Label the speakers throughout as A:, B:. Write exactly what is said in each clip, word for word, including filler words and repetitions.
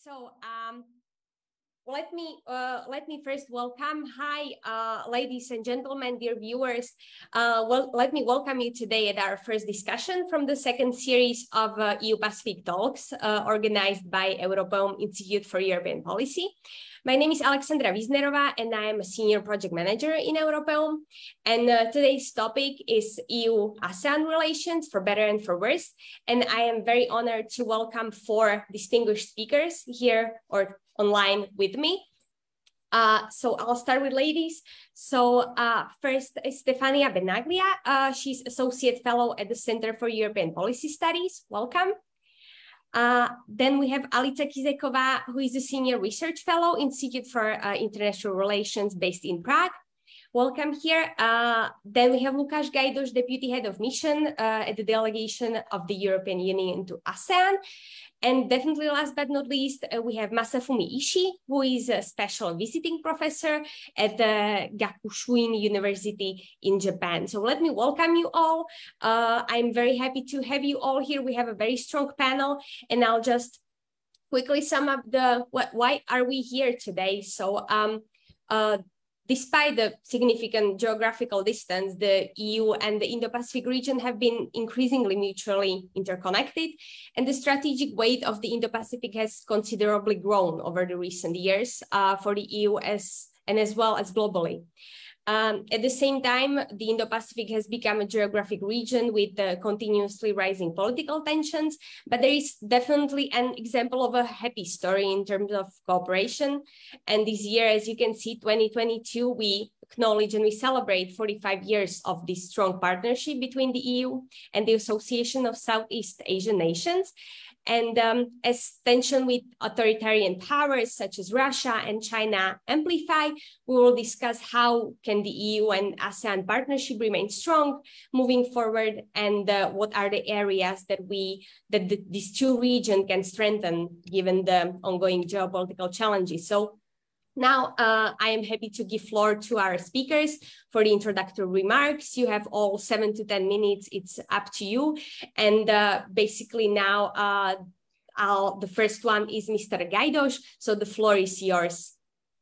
A: So um, let me uh, let me first welcome. Hi, uh, ladies and gentlemen, dear viewers. Uh, well, let me welcome you today at our first discussion from the second series of uh, E U Pacific Talks, uh, organized by Europeum Institute for European Policy. My name is Alexandra Wisnerova, and I am a senior project manager in Europeum. And uh, today's topic is E U ASEAN relations, for better and for worse. And I am very honored to welcome four distinguished speakers here or online with me. Uh, so I'll start with ladies. So uh, first is Stefania Benaglia. Uh, she's Associate Fellow at the Center for European Policy Studies. Welcome. Uh, then we have Alica Kizekova, who is a Senior Research Fellow, Institute for uh, International Relations based in Prague. Welcome here. Uh, then we have Lukáš Gajdoš, Deputy Head of Mission uh, at the Delegation of the European Union to ASEAN. And definitely last but not least, uh, we have Masafumi Ishii, who is a special visiting professor at the Gakushuin University in Japan. So let me welcome you all. Uh, I'm very happy to have you all here. We have a very strong panel, and I'll just quickly sum up the what, why are we here today. So um, uh, despite the significant geographical distance, the E U and the Indo-Pacific region have been increasingly mutually interconnected, and the strategic weight of the Indo-Pacific has considerably grown over the recent years uh, for the E U as, and as well as globally. Um, at the same time, the Indo-Pacific has become a geographic region with uh, continuously rising political tensions, but there is definitely an example of a happy story in terms of cooperation. And this year, as you can see, twenty twenty-two, we acknowledge and we celebrate forty-five years of this strong partnership between the E U and the Association of Southeast Asian Nations. And um, as tension with authoritarian powers such as Russia and China amplify, we will discuss how can the E U and ASEAN partnership remain strong moving forward, and uh, what are the areas that we that the, these two regions can strengthen given the ongoing geopolitical challenges. So now, uh, I am happy to give floor to our speakers for the introductory remarks. You have all seven to ten minutes. It's up to you. And uh, basically now, uh, I'll, the first one is Mister Gajdoš. So the floor is yours.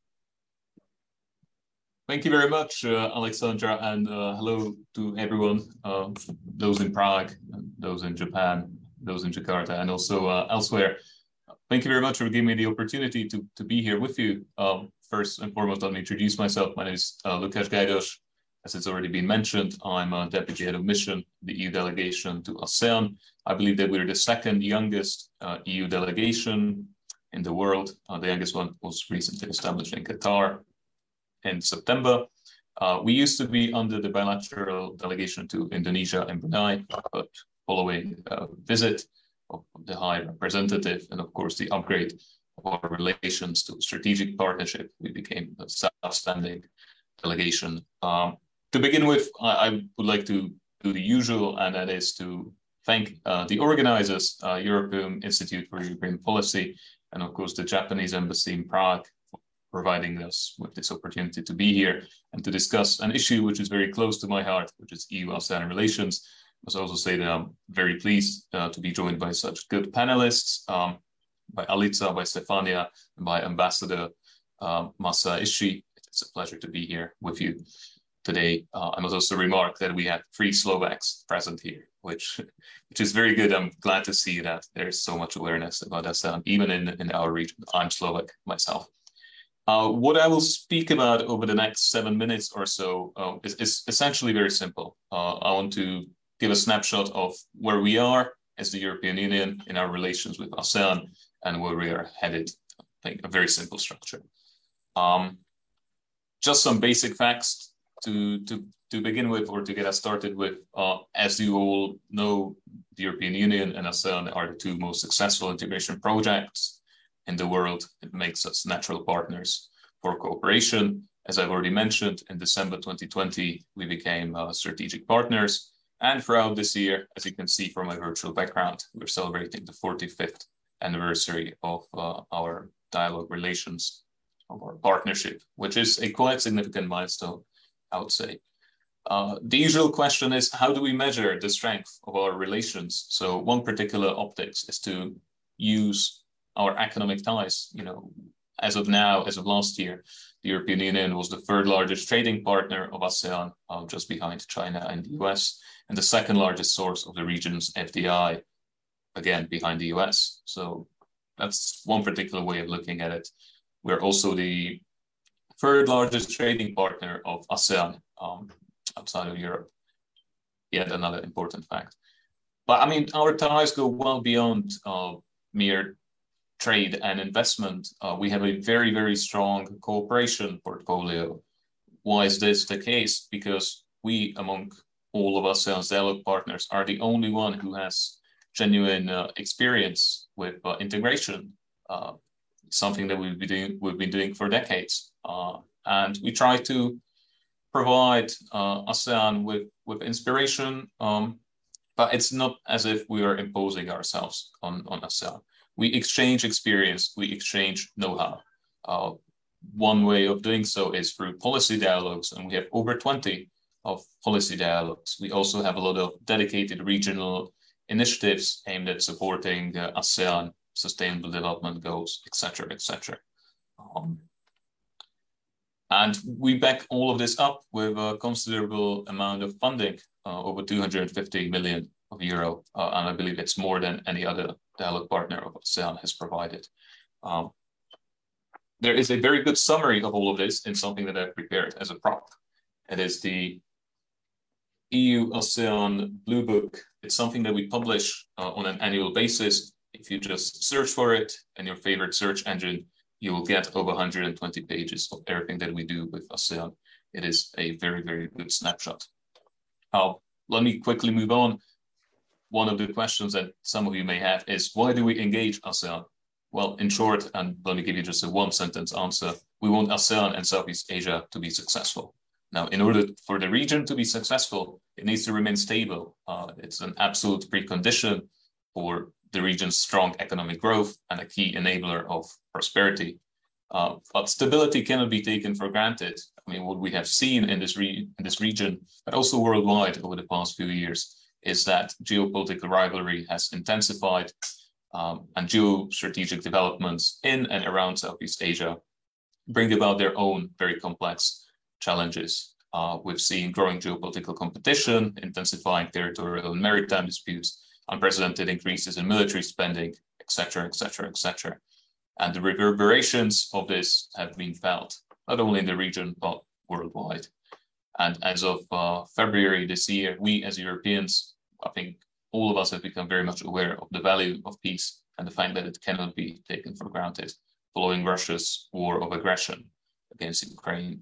B: Thank you very much, uh, Alexandra, and uh, hello to everyone, uh, those in Prague, those in Japan, those in Jakarta, and also uh, elsewhere. Thank you very much for giving me the opportunity to, to be here with you. Um, first and foremost, let me introduce myself. My name is uh, Lukáš Gajdoš. As it's already been mentioned, I'm a Deputy Head of Mission, the E U delegation to ASEAN. I believe that we're the second youngest uh, E U delegation in the world. Uh, the youngest one was recently established in Qatar in September. Uh, we used to be under the bilateral delegation to Indonesia and Brunei, but following a visit of the High Representative and, of course, the upgrade of our relations to strategic partnership, we became a self-standing delegation. Um, to begin with, I, I would like to do the usual, and that is to thank uh, the organizers, uh, European Institute for European Policy, and, of course, the Japanese Embassy in Prague for providing us with this opportunity to be here and to discuss an issue which is very close to my heart, which is E U ASEAN relations. I must also say that I'm very pleased uh, to be joined by such good panelists, um, by Alica, by Stefania, and by Ambassador um, Masa Ishii. It's a pleasure to be here with you today. Uh, I must also remark that we have three Slovaks present here, which, which is very good. I'm glad to see that there's so much awareness about ASEAN, even in, in our region. I'm Slovak myself. Uh, what I will speak about over the next seven minutes or so uh, is, is essentially very simple. Uh, I want to give a snapshot of where we are as the European Union in our relations with ASEAN and where we are headed. I think a very simple structure. Um, just some basic facts to, to, to begin with, or to get us started with. Uh, as you all know, the European Union and ASEAN are the two most successful integration projects in the world. It makes us natural partners for cooperation. As I've already mentioned, in December twenty twenty, we became uh, strategic partners. And throughout this year, as you can see from my virtual background, we're celebrating the forty-fifth anniversary of uh, our dialogue relations, of our partnership, which is a quite significant milestone, I would say. Uh, the usual question is, how do we measure the strength of our relations? So one particular optics is to use our economic ties. You know, as of now, as of last year, the European Union was the third largest trading partner of ASEAN, uh, just behind China and the U S, and the second largest source of the region's F D I, again, behind the U S. So that's one particular way of looking at it. We're also the third largest trading partner of ASEAN um, outside of Europe. Yet another important fact. But I mean, our ties go well beyond uh, mere trade and investment. Uh, we have a very, very strong cooperation portfolio. Why is this the case? Because we, among all of ASEAN's dialogue partners, are the only one who has genuine uh, experience with uh, integration, uh, something that we've been doing, we've been doing for decades. Uh, and we try to provide uh, ASEAN with, with inspiration, um, but it's not as if we are imposing ourselves on, on ASEAN. We exchange experience, we exchange know-how. Uh, one way of doing so is through policy dialogues, and we have over twenty of policy dialogues. We also have a lot of dedicated regional initiatives aimed at supporting uh, ASEAN sustainable development goals, et cetera, et cetera. Um, and we back all of this up with a considerable amount of funding, uh, over two hundred fifty million of euro, uh, and I believe it's more than any other dialogue partner of ASEAN has provided. Um, there is a very good summary of all of this in something that I've prepared as a prop. It is the E U ASEAN Blue Book. It's something that we publish uh, on an annual basis. If you just search for it in your favorite search engine, you will get over one hundred twenty pages of everything that we do with ASEAN. It is a very, very good snapshot. Uh, let me quickly move on. One of the questions that some of you may have is, why do we engage ASEAN? Well, in short, and let me give you just a one sentence answer, we want ASEAN and Southeast Asia to be successful. Now, in order for the region to be successful, it needs to remain stable. Uh, it's an absolute precondition for the region's strong economic growth and a key enabler of prosperity. Uh, but stability cannot be taken for granted. I mean, what we have seen in this, re in this region, but also worldwide over the past few years, is that geopolitical rivalry has intensified, um, and geostrategic developments in and around Southeast Asia bring about their own very complex challenges. Uh, we've seen growing geopolitical competition, intensifying territorial and maritime disputes, unprecedented increases in military spending, et cetera, et cetera, et cetera. And the reverberations of this have been felt, not only in the region, but worldwide. And as of uh, February this year, we as Europeans, I think all of us have become very much aware of the value of peace and the fact that it cannot be taken for granted following Russia's war of aggression against Ukraine.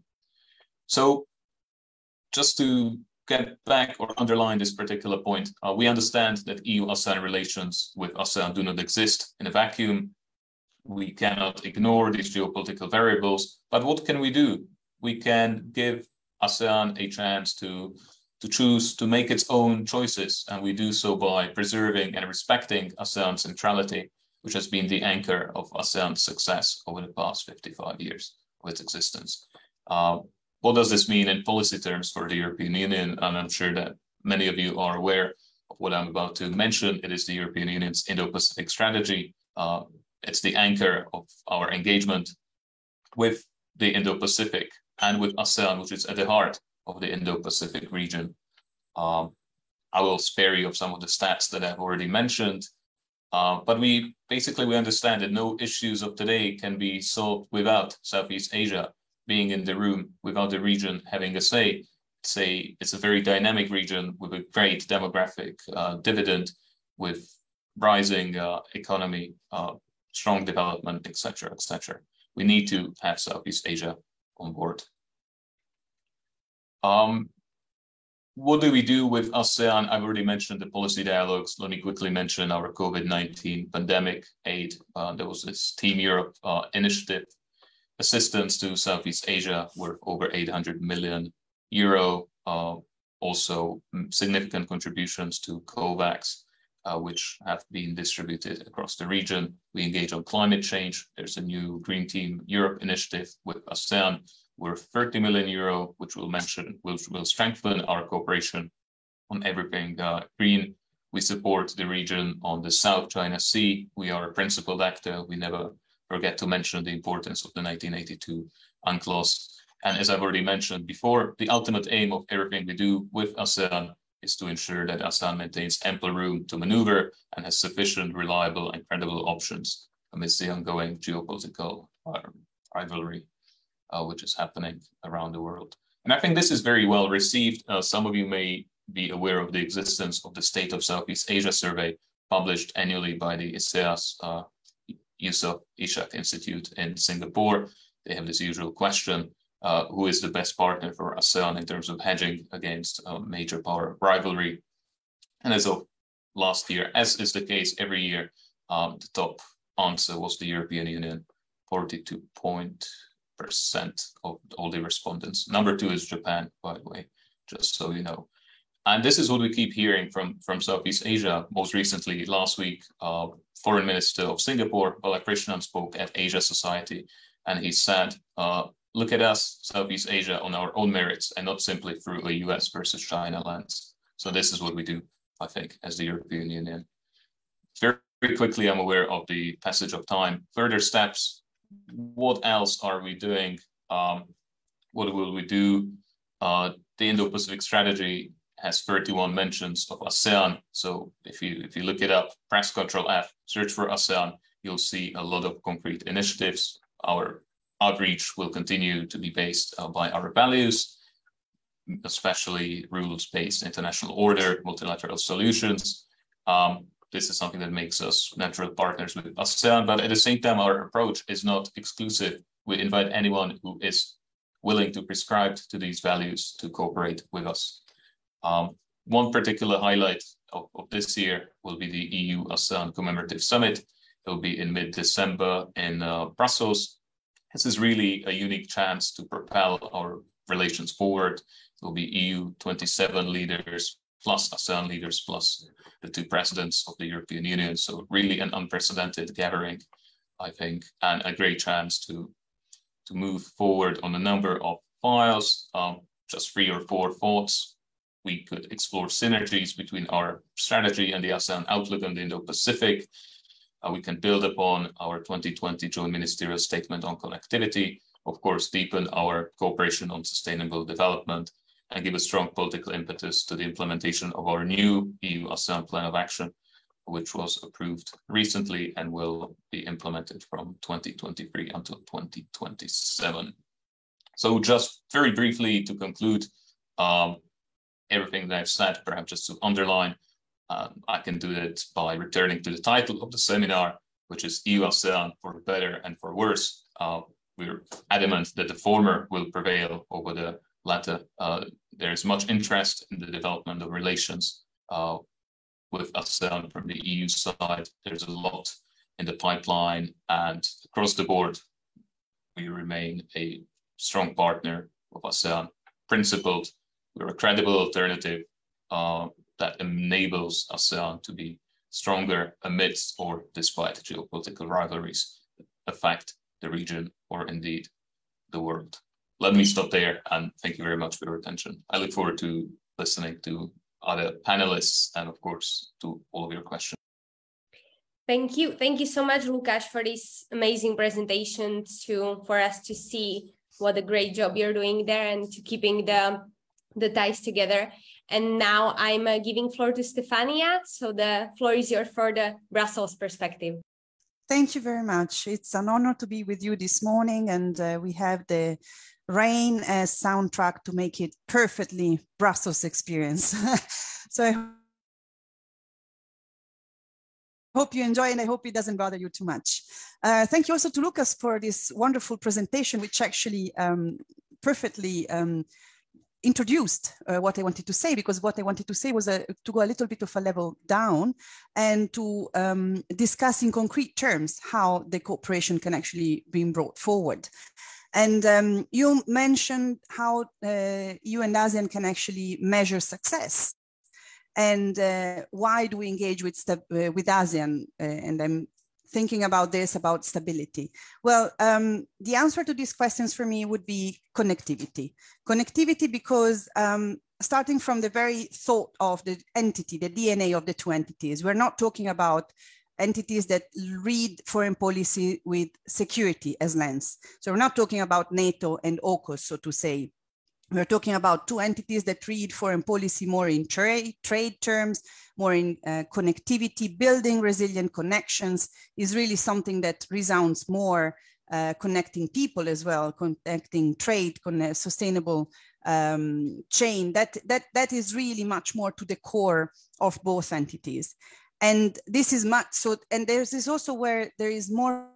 B: So just to get back or underline this particular point, uh, we understand that E U ASEAN relations with ASEAN do not exist in a vacuum. We cannot ignore these geopolitical variables, but what can we do? We can give ASEAN a chance to, to choose to make its own choices, and we do so by preserving and respecting ASEAN centrality, which has been the anchor of ASEAN's success over the past fifty-five years of its existence. Uh, what does this mean in policy terms for the European Union? And I'm sure that many of you are aware of what I'm about to mention. It is the European Union's Indo-Pacific strategy. Uh, it's the anchor of our engagement with the Indo-Pacific and with ASEAN, which is at the heart of the Indo-Pacific region. Um, I will spare you of some of the stats that I've already mentioned, uh, but we basically we understand that no issues of today can be solved without Southeast Asia being in the room, without the region having a say. It's a, it's a very dynamic region with a great demographic uh, dividend, with rising uh, economy, uh, strong development, et cetera, et cetera. We need to have Southeast Asia on board. Um, what do we do with ASEAN? I've already mentioned the policy dialogues. Let me quickly mention our COVID nineteen pandemic aid. Uh, there was this Team Europe uh, initiative, assistance to Southeast Asia worth over eight hundred million euro. Uh, also significant contributions to COVAX, uh, which have been distributed across the region. We engage on climate change. There's a new Green Team Europe initiative with ASEAN worth thirty million euro, which will mention, which will strengthen our cooperation on everything uh, green. We support the region on the South China Sea. We are a principal actor. We never forget to mention the importance of the nineteen eighty-two UNCLOS. And as I've already mentioned before, the ultimate aim of everything we do with ASEAN is to ensure that ASEAN maintains ample room to maneuver and has sufficient, reliable, and credible options amidst the ongoing geopolitical rivalry, uh, which is happening around the world. And I think this is very well received. Uh, some of you may be aware of the existence of the State of Southeast Asia survey published annually by the ISEAS uh, Yusof Ishak Institute in Singapore. They have this usual question, uh, who is the best partner for ASEAN in terms of hedging against uh, major power rivalry? And as of last year, as is the case every year, um, the top answer was the European Union, forty-two percent of all the respondents. Number two is Japan, by the way, just so you know. And this is what we keep hearing from, from Southeast Asia. Most recently, last week, uh, Foreign Minister of Singapore, Balakrishnan, spoke at Asia Society, and he said, uh, look at us, Southeast Asia, on our own merits, and not simply through a U S versus China lens. So this is what we do, I think, as the European Union. Very, very quickly, I'm aware of the passage of time. Further steps, what else are we doing? Um, what will we do? Uh, the Indo-Pacific strategy has thirty-one mentions of ASEAN. So if you if you look it up, press Control F, search for ASEAN, you'll see a lot of concrete initiatives. Our outreach will continue to be based uh, by our values, especially rules-based international order, multilateral solutions. Um, this is something that makes us natural partners with ASEAN, but at the same time, our approach is not exclusive. We invite anyone who is willing to prescribe to these values to cooperate with us. Um, one particular highlight of, of this year will be the E U ASEAN Commemorative Summit. It will be in mid-December in uh, Brussels. This is really a unique chance to propel our relations forward. It will be E U twenty-seven leaders plus ASEAN leaders plus the two presidents of the European Union. So really an unprecedented gathering, I think, and a great chance to, to move forward on a number of files. Um, just three or four thoughts. We could explore synergies between our strategy and the ASEAN outlook on the Indo-Pacific. Uh, we can build upon our twenty twenty Joint Ministerial Statement on Connectivity, of course, deepen our cooperation on sustainable development, and give a strong political impetus to the implementation of our new E U ASEAN Plan of Action, which was approved recently and will be implemented from twenty twenty-three until twenty twenty-seven. So just very briefly to conclude, um, everything that I've said, perhaps just to underline, uh, I can do it by returning to the title of the seminar, which is E U ASEAN for better and for worse. Uh, we're adamant that the former will prevail over the latter. Uh, there is much interest in the development of relations uh, with ASEAN from the E U side. There's a lot in the pipeline, and across the board, we remain a strong partner of ASEAN, principled. We're a credible alternative uh, that enables ASEAN to be stronger amidst or despite geopolitical rivalries affect the region or indeed the world. Let me stop there, and thank you very much for your attention. I look forward to listening to other panelists and, of course, to all of your questions.
A: Thank you. Thank you so much, Lukáš, for this amazing presentation to, for us to see what a great job you're doing there and to keeping the the ties together. And now I'm uh, giving floor to Stefania. So the floor is yours for the Brussels perspective.
C: Thank you very much. It's an honor to be with you this morning, and uh, we have the rain as soundtrack to make it perfectly Brussels experience. So I hope you enjoy, and I hope it doesn't bother you too much. Uh, thank you also to Lukáš for this wonderful presentation, which actually um, perfectly um, introduced uh, what I wanted to say, because what I wanted to say was uh, to go a little bit of a level down and to um, discuss in concrete terms how the cooperation can actually be brought forward. And um, you mentioned how uh, you and ASEAN can actually measure success. And uh, why do we engage with, uh, with ASEAN? Uh, and I'm thinking about this, about stability. Well, um, the answer to these questions for me would be connectivity. Connectivity because um, starting from the very thought of the entity, the D N A of the two entities. We're not talking about entities that read foreign policy with security as lens. So we're not talking about NATO and AUKUS, so to say. We're talking about two entities that read foreign policy more in trade, trade terms, more in uh, connectivity. Building resilient connections is really something that resounds more, uh, connecting people as well, connecting trade, connect, sustainable um, chain. That, that, that is really much more to the core of both entities. And this is much so, and there's this also where there is more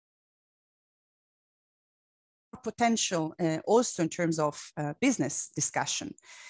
C: potential uh, also in terms of uh, business discussion.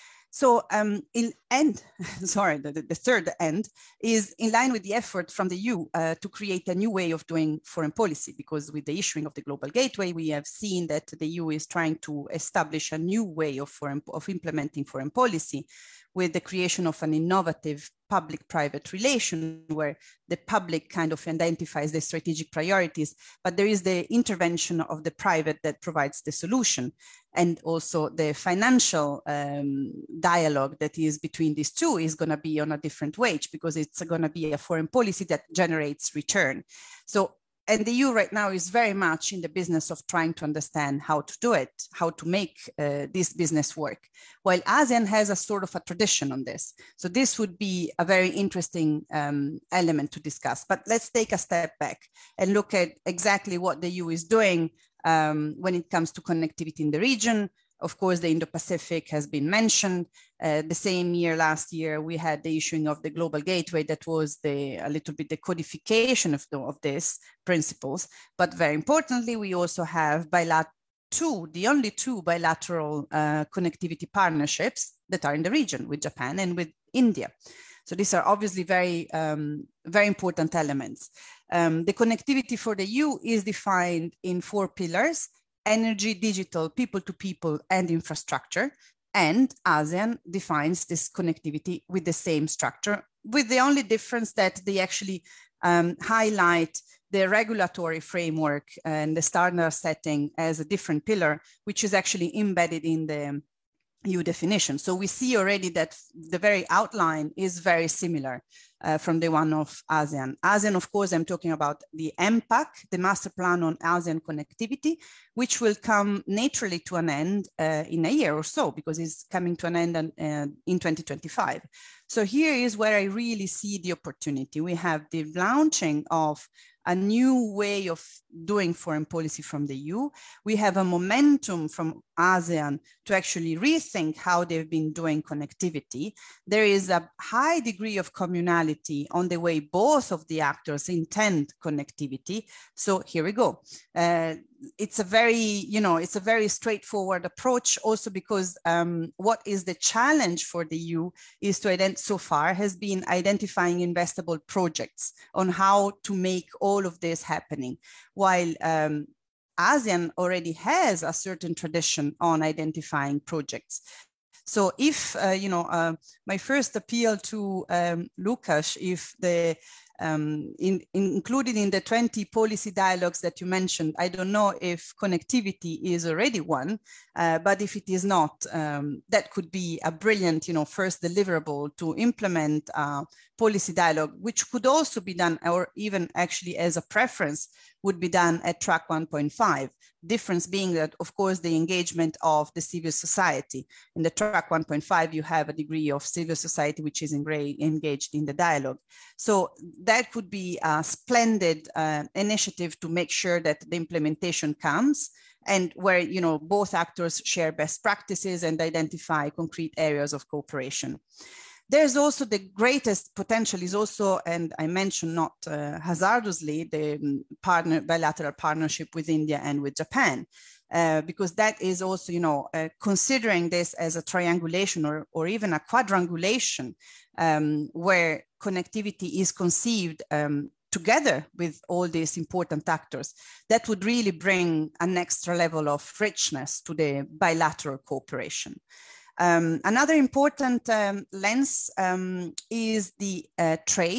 C: So um, in end, sorry, the, the third end is in line with the effort from the E U uh, to create a new way of doing foreign policy, because with the issuing of the Global Gateway, we have seen that the E U is trying to establish a new way of, foreign, of implementing foreign policy with the creation of an innovative public-private relation where the public kind of identifies the strategic priorities, but there is the intervention of the private that provides the solution. And also the financial um, dialogue that is between these two is going to be on a different wage, because it's going to be a foreign policy that generates return. So, and the E U right now is very much in the business of trying to understand how to do it, how to make uh, this business work, while ASEAN has a sort of a tradition on this. So this would be a very interesting um, element to discuss. But let's take a step back and look at exactly what the E U is doing um, when it comes to connectivity in the region. Of course, the Indo-Pacific has been mentioned. Uh, the same year, last year, we had the issuing of the Global Gateway that was the, a little bit the codification of, the, of these principles. But very importantly, we also have bilateral two, the only two bilateral uh, connectivity partnerships that are in the region with Japan and with India. So these are obviously very, um, very important elements. Um, the connectivity for the E U is defined in four pillars: energy, digital, people-to-people, and infrastructure. And ASEAN defines this connectivity with the same structure, with the only difference that they actually um, highlight the regulatory framework and the standard setting as a different pillar, which is actually embedded in the E U definition. So we see already that the very outline is very similar uh, from the one of ASEAN. ASEAN, of course, I'm talking about the M PAC, the Master Plan on ASEAN Connectivity, which will come naturally to an end uh, in a year or so, because it's coming to an end in, uh, in twenty twenty-five. So here is where I really see the opportunity. We have the launching of a new way of doing foreign policy from the E U. We have a momentum from ASEAN to actually rethink how they've been doing connectivity. There is a high degree of communality on the way both of the actors intend connectivity. So here we go. Uh, it's a very, you know, it's a very straightforward approach, also because um, what is the challenge for the E U is to identify, so far has been identifying investable projects on how to make all of this happening, while um, ASEAN already has a certain tradition on identifying projects. So if, uh, you know, uh, my first appeal to um, Łukasz, if the Um, in, in, included in the twenty policy dialogues that you mentioned, I don't know if connectivity is already one, uh, but if it is not, um, that could be a brilliant, you know, first deliverable to implement uh, policy dialogue, which could also be done, or even actually as a preference, would be done at track one point five. Difference being that, of course, the engagement of the civil society. In the track one point five, you have a degree of civil society which is engaged in the dialogue. So that could be a splendid uh, initiative to make sure that the implementation comes, and where, you know, both actors share best practices and identify concrete areas of cooperation. There's also the greatest potential is also, and I mentioned not uh, hazardously, the partner, bilateral partnership with India and with Japan, uh, because that is also, you know, uh, considering this as a triangulation or, or even a quadrangulation, um, where connectivity is conceived um, together with all these important actors, that would really bring an extra level of richness to the bilateral cooperation. Um, another important um, lens um, is the uh, trade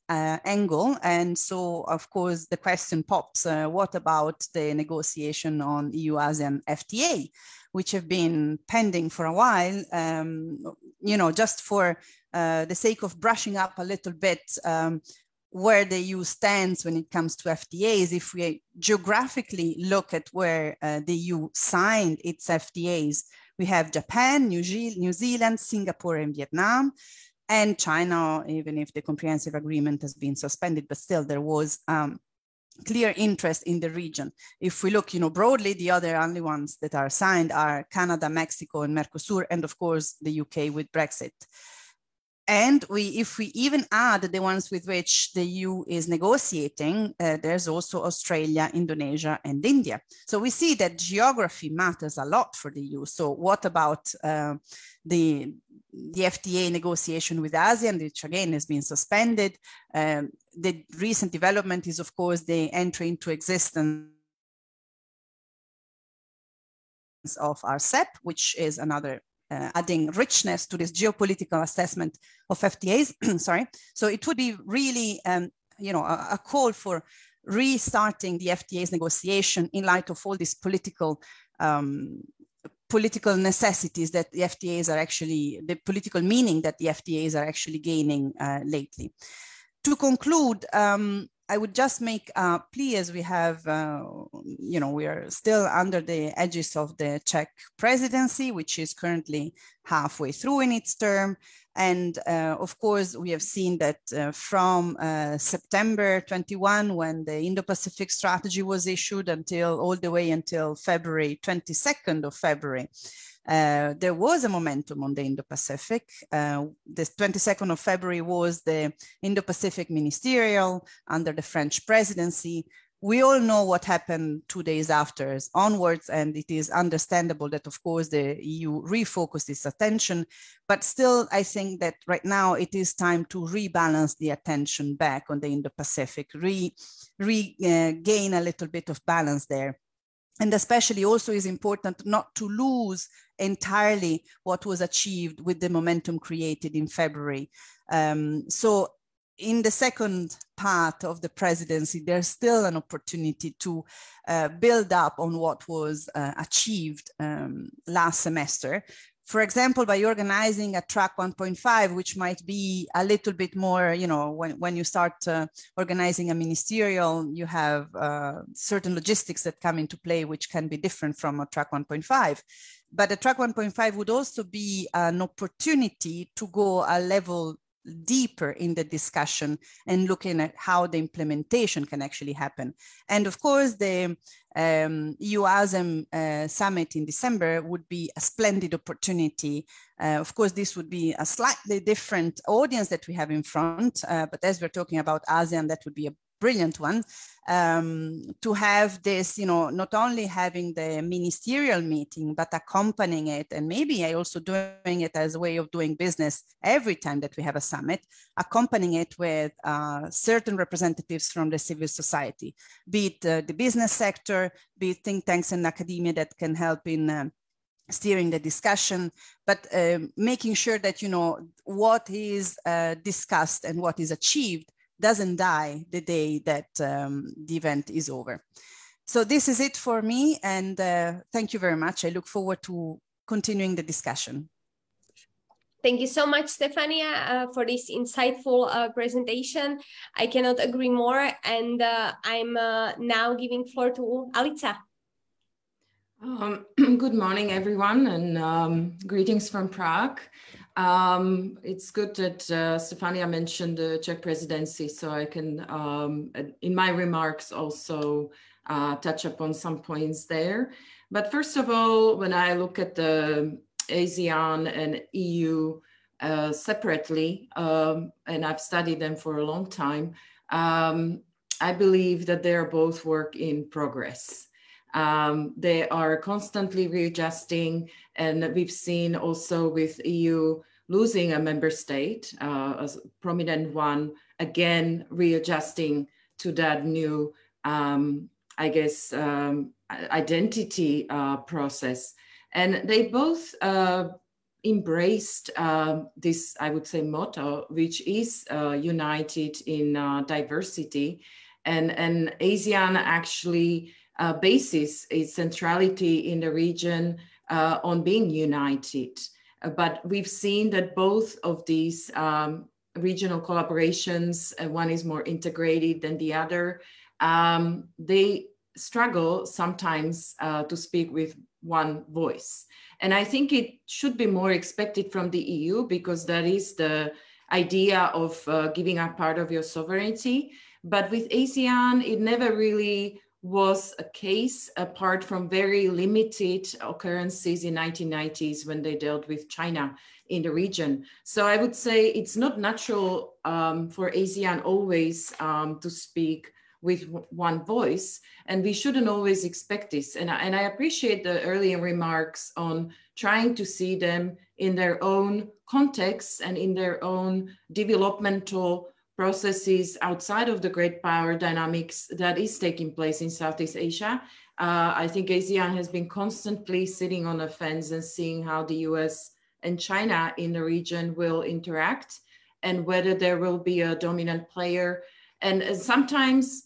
C: uh, angle. And so, of course, the question pops, uh, what about the negotiation on E U-ASEAN F T A, which have been pending for a while, um, you know, just for uh, the sake of brushing up a little bit um, where the E U stands when it comes to F T As. If we geographically look at where uh, the E U signed its F T As, we have Japan, New, Ze New Zealand, Singapore, and Vietnam, and China, even if the comprehensive agreement has been suspended, but still there was um, clear interest in the region. If we look, you know, broadly, the other only ones that are signed are Canada, Mexico, and Mercosur, and of course the U K with Brexit. And we, if we even add the ones with which the E U is negotiating, uh, there's also Australia, Indonesia, and India. So we see that geography matters a lot for the E U. So what about uh, the, the F T A negotiation with ASEAN, which again has been suspended? Um, the recent development is, of course, the entry into existence of R C E P, which is another Uh, adding richness to this geopolitical assessment of F T As. Sorry. So it would be really, um, you know, a, a call for restarting the F T As negotiation in light of all these political um, political necessities that the F T As are actually, the political meaning that the F T As are actually gaining uh, lately. To conclude, um, I would just make a plea, as we have, uh, you know, we are still under the edges of the Czech presidency, which is currently halfway through in its term. And uh, of course, we have seen that uh, from uh, September twenty-first, when the Indo-Pacific strategy was issued, until all the way until February, twenty-second of February, Uh, there was a momentum on the Indo-Pacific. Uh, the twenty-second of February was the Indo-Pacific Ministerial under the French presidency. We all know what happened two days after onwards, and it is understandable that, of course, the E U refocused its attention. But still, I think that right now it is time to rebalance the attention back on the Indo-Pacific, re, regain uh, a little bit of balance there. And especially also is important not to lose entirely what was achieved with the momentum created in February. Um, so in the second part of the presidency, there's still an opportunity to uh, build up on what was uh, achieved um, last semester. For example, by organizing a track one point five, which might be a little bit more, you know, when, when you start uh, organizing a ministerial, you have uh, certain logistics that come into play, which can be different from a track one point five. But a track one point five would also be an opportunity to go a level deeper in the discussion and looking at how the implementation can actually happen. And of course, the um, E U-ASEAN uh, summit in December would be a splendid opportunity. Uh, of course, this would be a slightly different audience that we have in front, uh, but as we're talking about ASEAN, that would be a brilliant one, um, to have this, you know, not only having the ministerial meeting, but accompanying it, and maybe I also doing it as a way of doing business every time that we have a summit, accompanying it with uh, certain representatives from the civil society, be it uh, the business sector, be it think tanks and academia that can help in um, steering the discussion, but uh, making sure that, you know, what is uh, discussed and what is achieved doesn't die the day that um, the event is over. So this is it for me, and uh, thank you very much. I look forward to continuing the discussion.
A: Thank you so much, Stefania, uh, for this insightful uh, presentation. I cannot agree more, and uh, I'm uh, now giving floor to Alica.
D: Um, good morning, everyone, and um, greetings from Prague. Um, it's good that uh, Stefania mentioned the Czech presidency, so I can, um, in my remarks, also uh, touch upon some points there. But first of all, when I look at the ASEAN and E U uh, separately, um, and I've studied them for a long time, um, I believe that they are both work in progress. Um, they are constantly readjusting, and we've seen also with E U losing a member state, uh, a prominent one, again readjusting to that new, um, I guess, um, identity uh, process. And they both uh, embraced uh, this, I would say, motto, which is uh, united in uh, diversity. And, and ASEAN actually uh, bases its centrality in the region uh, on being united. Uh, but we've seen that both of these um, regional collaborations, uh, one is more integrated than the other, um, they struggle sometimes uh, to speak with one voice. And I think it should be more expected from the E U, because that is the idea of uh, giving up part of your sovereignty. But with ASEAN, it never really was a case, apart from very limited occurrences in nineteen nineties when they dealt with China in the region. So I would say it's not natural um, for ASEAN always um, to speak with one voice, and we shouldn't always expect this. And I, and I appreciate the earlier remarks on trying to see them in their own context and in their own developmental processes outside of the great power dynamics that is taking place in Southeast Asia. Uh, I think ASEAN has been constantly sitting on a fence and seeing how the U S and China in the region will interact and whether there will be a dominant player. And, and sometimes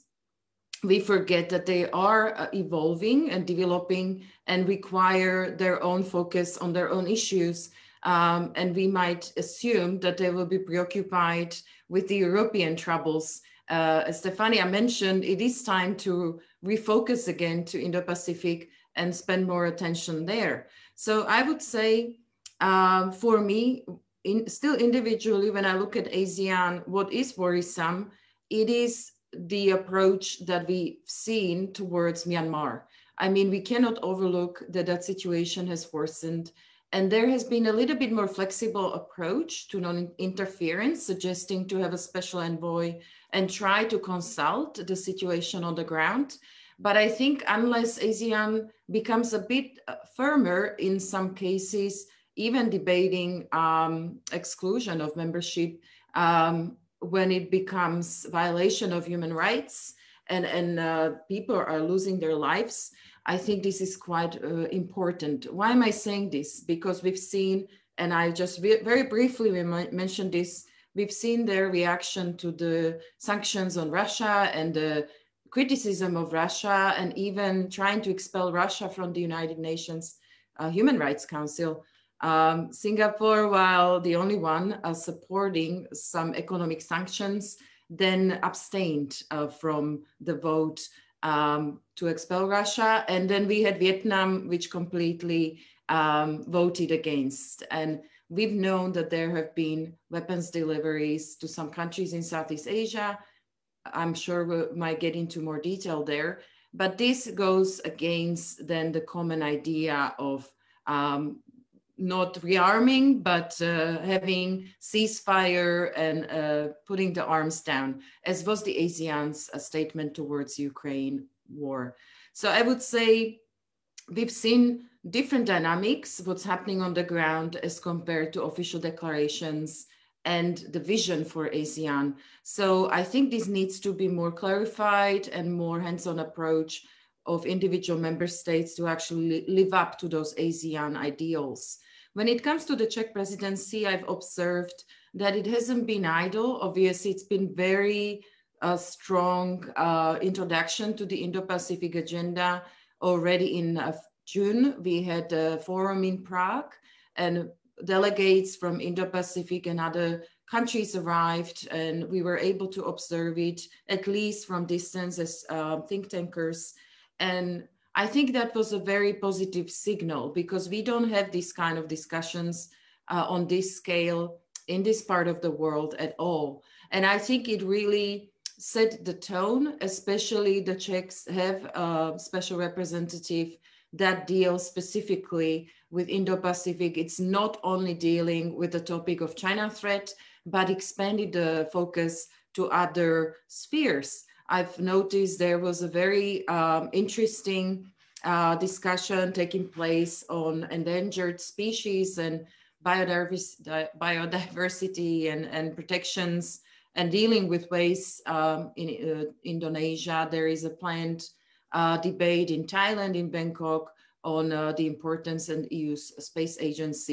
D: we forget that they are uh, evolving and developing and require their own focus on their own issues. Um, and we might assume that they will be preoccupied with the European troubles. Uh, as Stefania mentioned, it is time to refocus again to Indo-Pacific and spend more attention there. So I would say, um, for me, in, still individually, when I look at ASEAN, what is worrisome, it is the approach that we've seen towards Myanmar. I mean, we cannot overlook that that situation has worsened. And there has been a little bit more flexible approach to non-interference, suggesting to have a special envoy and try to consult the situation on the ground. But I think unless ASEAN becomes a bit firmer in some cases, even debating um, exclusion of membership, um, when it becomes violation of human rights and, and uh, people are losing their lives, I think this is quite uh, important. Why am I saying this? Because we've seen, and I just very briefly mentioned this, we've seen their reaction to the sanctions on Russia and the criticism of Russia and even trying to expel Russia from the United Nations uh, Human Rights Council. Um, Singapore, while the only one uh, supporting some economic sanctions, then abstained uh, from the vote um, to expel Russia. And then we had Vietnam, which completely um, voted against. And we've known that there have been weapons deliveries to some countries in Southeast Asia. I'm sure we might get into more detail there. But this goes against then the common idea of um, not rearming, but uh, having ceasefire and uh, putting the arms down, as was the ASEAN's uh, statement towards Ukraine war. So I would say we've seen different dynamics, what's happening on the ground as compared to official declarations and the vision for ASEAN. So I think this needs to be more clarified and more hands-on approach of individual member states to actually live up to those ASEAN ideals. When it comes to the Czech presidency, I've observed that it hasn't been idle. Obviously, it's been very uh, strong uh, introduction to the Indo-Pacific agenda. Already in uh, June, we had a forum in Prague and delegates from Indo-Pacific and other countries arrived, and we were able to observe it at least from distance as uh, think tankers. And I think that was a very positive signal because we don't have these kind of discussions uh, on this scale in this part of the world at all. And I think it really set the tone, especially the Czechs have a special representative that deals specifically with Indo-Pacific. It's not only dealing with the topic of China threat, but expanded the focus to other spheres. I've noticed there was a very um, interesting uh, discussion taking place on endangered species and biodiversity, biodiversity and, and protections and dealing with waste um, in uh, Indonesia. There is a planned uh, debate in Thailand, in Bangkok, on uh, the importance and E U's space agency.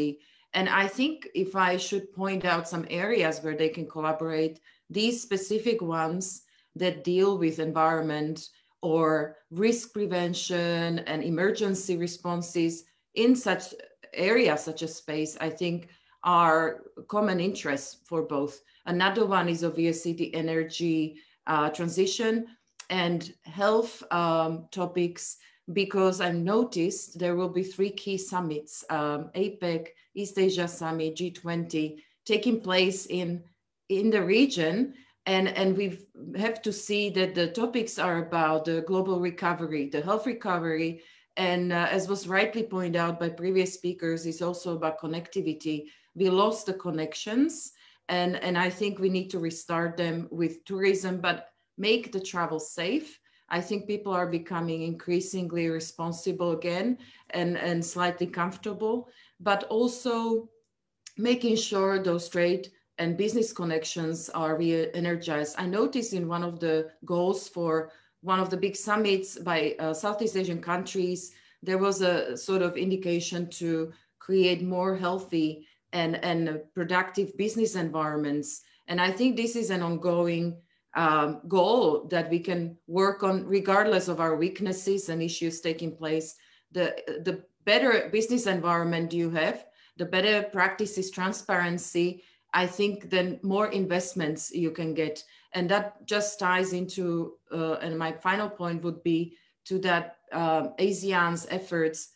D: And I think if I should point out some areas where they can collaborate, these specific ones that deal with environment or risk prevention and emergency responses in such areas such as space, I think are common interests for both. Another one is obviously the energy uh, transition and health um, topics, because I've noticed there will be three key summits, um, APEC, East Asia Summit, G twenty, taking place in, in the region. And, and we have to see that the topics are about the global recovery, the health recovery, and uh, as was rightly pointed out by previous speakers, is also about connectivity. We lost the connections, and, and I think we need to restart them with tourism, but make the travel safe. I think people are becoming increasingly responsible again and, and slightly comfortable, but also making sure those trade and business connections are re-energized. I noticed in one of the goals for one of the big summits by uh, Southeast Asian countries, there was a sort of indication to create more healthy and, and productive business environments. And I think this is an ongoing um, goal that we can work on regardless of our weaknesses and issues taking place. The, the better business environment you have, the better practices, transparency, I think then more investments you can get. And that just ties into, uh, and my final point would be to that uh, ASEAN's efforts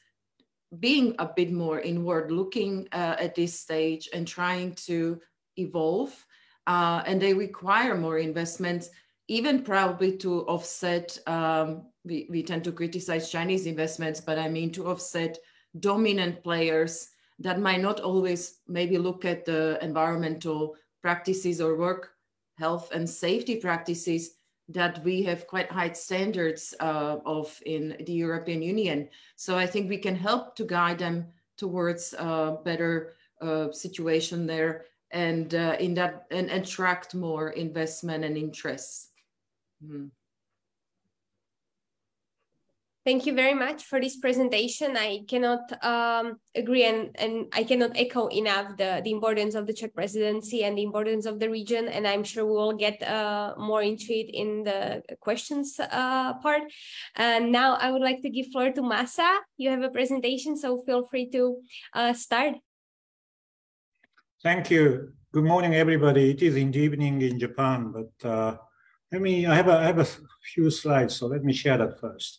D: being a bit more inward looking uh, at this stage and trying to evolve. Uh, and they require more investments, even probably to offset, um, we, we tend to criticize Chinese investments, but I mean to offset dominant players that might not always maybe look at the environmental practices or work health and safety practices that we have quite high standards uh, of in the European Union. So I think we can help to guide them towards a better uh, situation there and uh, in that and attract more investment and interests. Mm.
A: Thank you very much for this presentation. I cannot um, agree and, and I cannot echo enough the, the importance of the Czech presidency and the importance of the region. And I'm sure we will get uh, more into it in the questions uh, part. And now I would like to give floor to Masa. You have a presentation, so feel free to uh, start.
E: Thank you. Good morning, everybody. It is in the evening in Japan, but uh, let me, I have, a, I have a few slides, so let me share that first.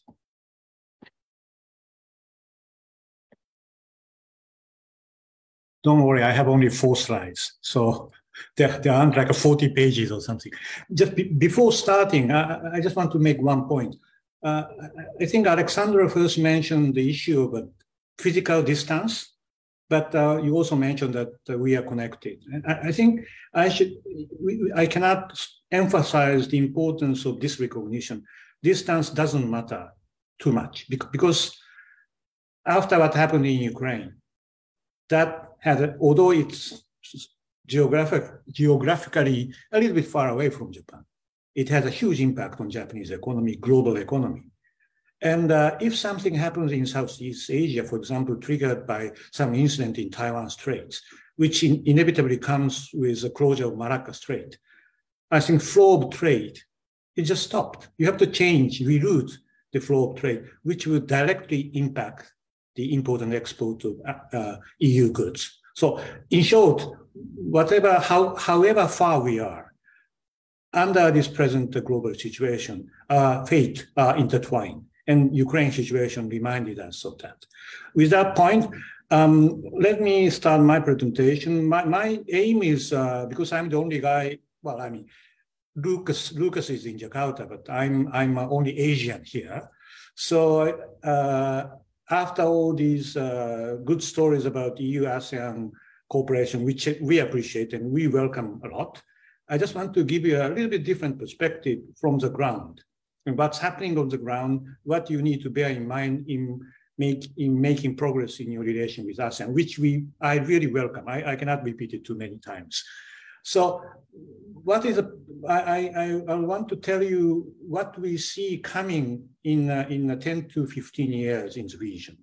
E: Don't worry, I have only four slides, so there, there aren't like forty pages or something. Just be, before starting, I, I just want to make one point. Uh, I think Alexandra first mentioned the issue of uh, physical distance, but uh, you also mentioned that uh, we are connected. And I, I think I should, we, I cannot emphasize the importance of this recognition. Distance doesn't matter too much because after what happened in Ukraine, that had, although it's geographic, geographically a little bit far away from Japan, it has a huge impact on Japanese economy, global economy. And uh, if something happens in Southeast Asia, for example, triggered by some incident in Taiwan Straits, which in, inevitably comes with the closure of Malacca Strait, I think flow of trade, it just stopped. You have to change, reroute the flow of trade, which will directly impact the import and export of uh, E U goods. So in short, whatever, how, however far we are, under this present global situation, uh, fate are intertwined, and Ukraine situation reminded us of that. With that point, um, let me start my presentation. My, my aim is, uh, because I'm the only guy, well, I mean, Lucas, Lucas is in Jakarta, but I'm, I'm only Asian here. So, uh, after all these uh, good stories about E U ASEAN cooperation, which we appreciate and we welcome a lot, I just want to give you a little bit different perspective from the ground and what's happening on the ground, what you need to bear in mind in, make, in making progress in your relation with ASEAN, which we I really welcome. I, I cannot repeat it too many times. So what is, a, I, I, I want to tell you what we see coming in, uh, in ten to fifteen years in the region.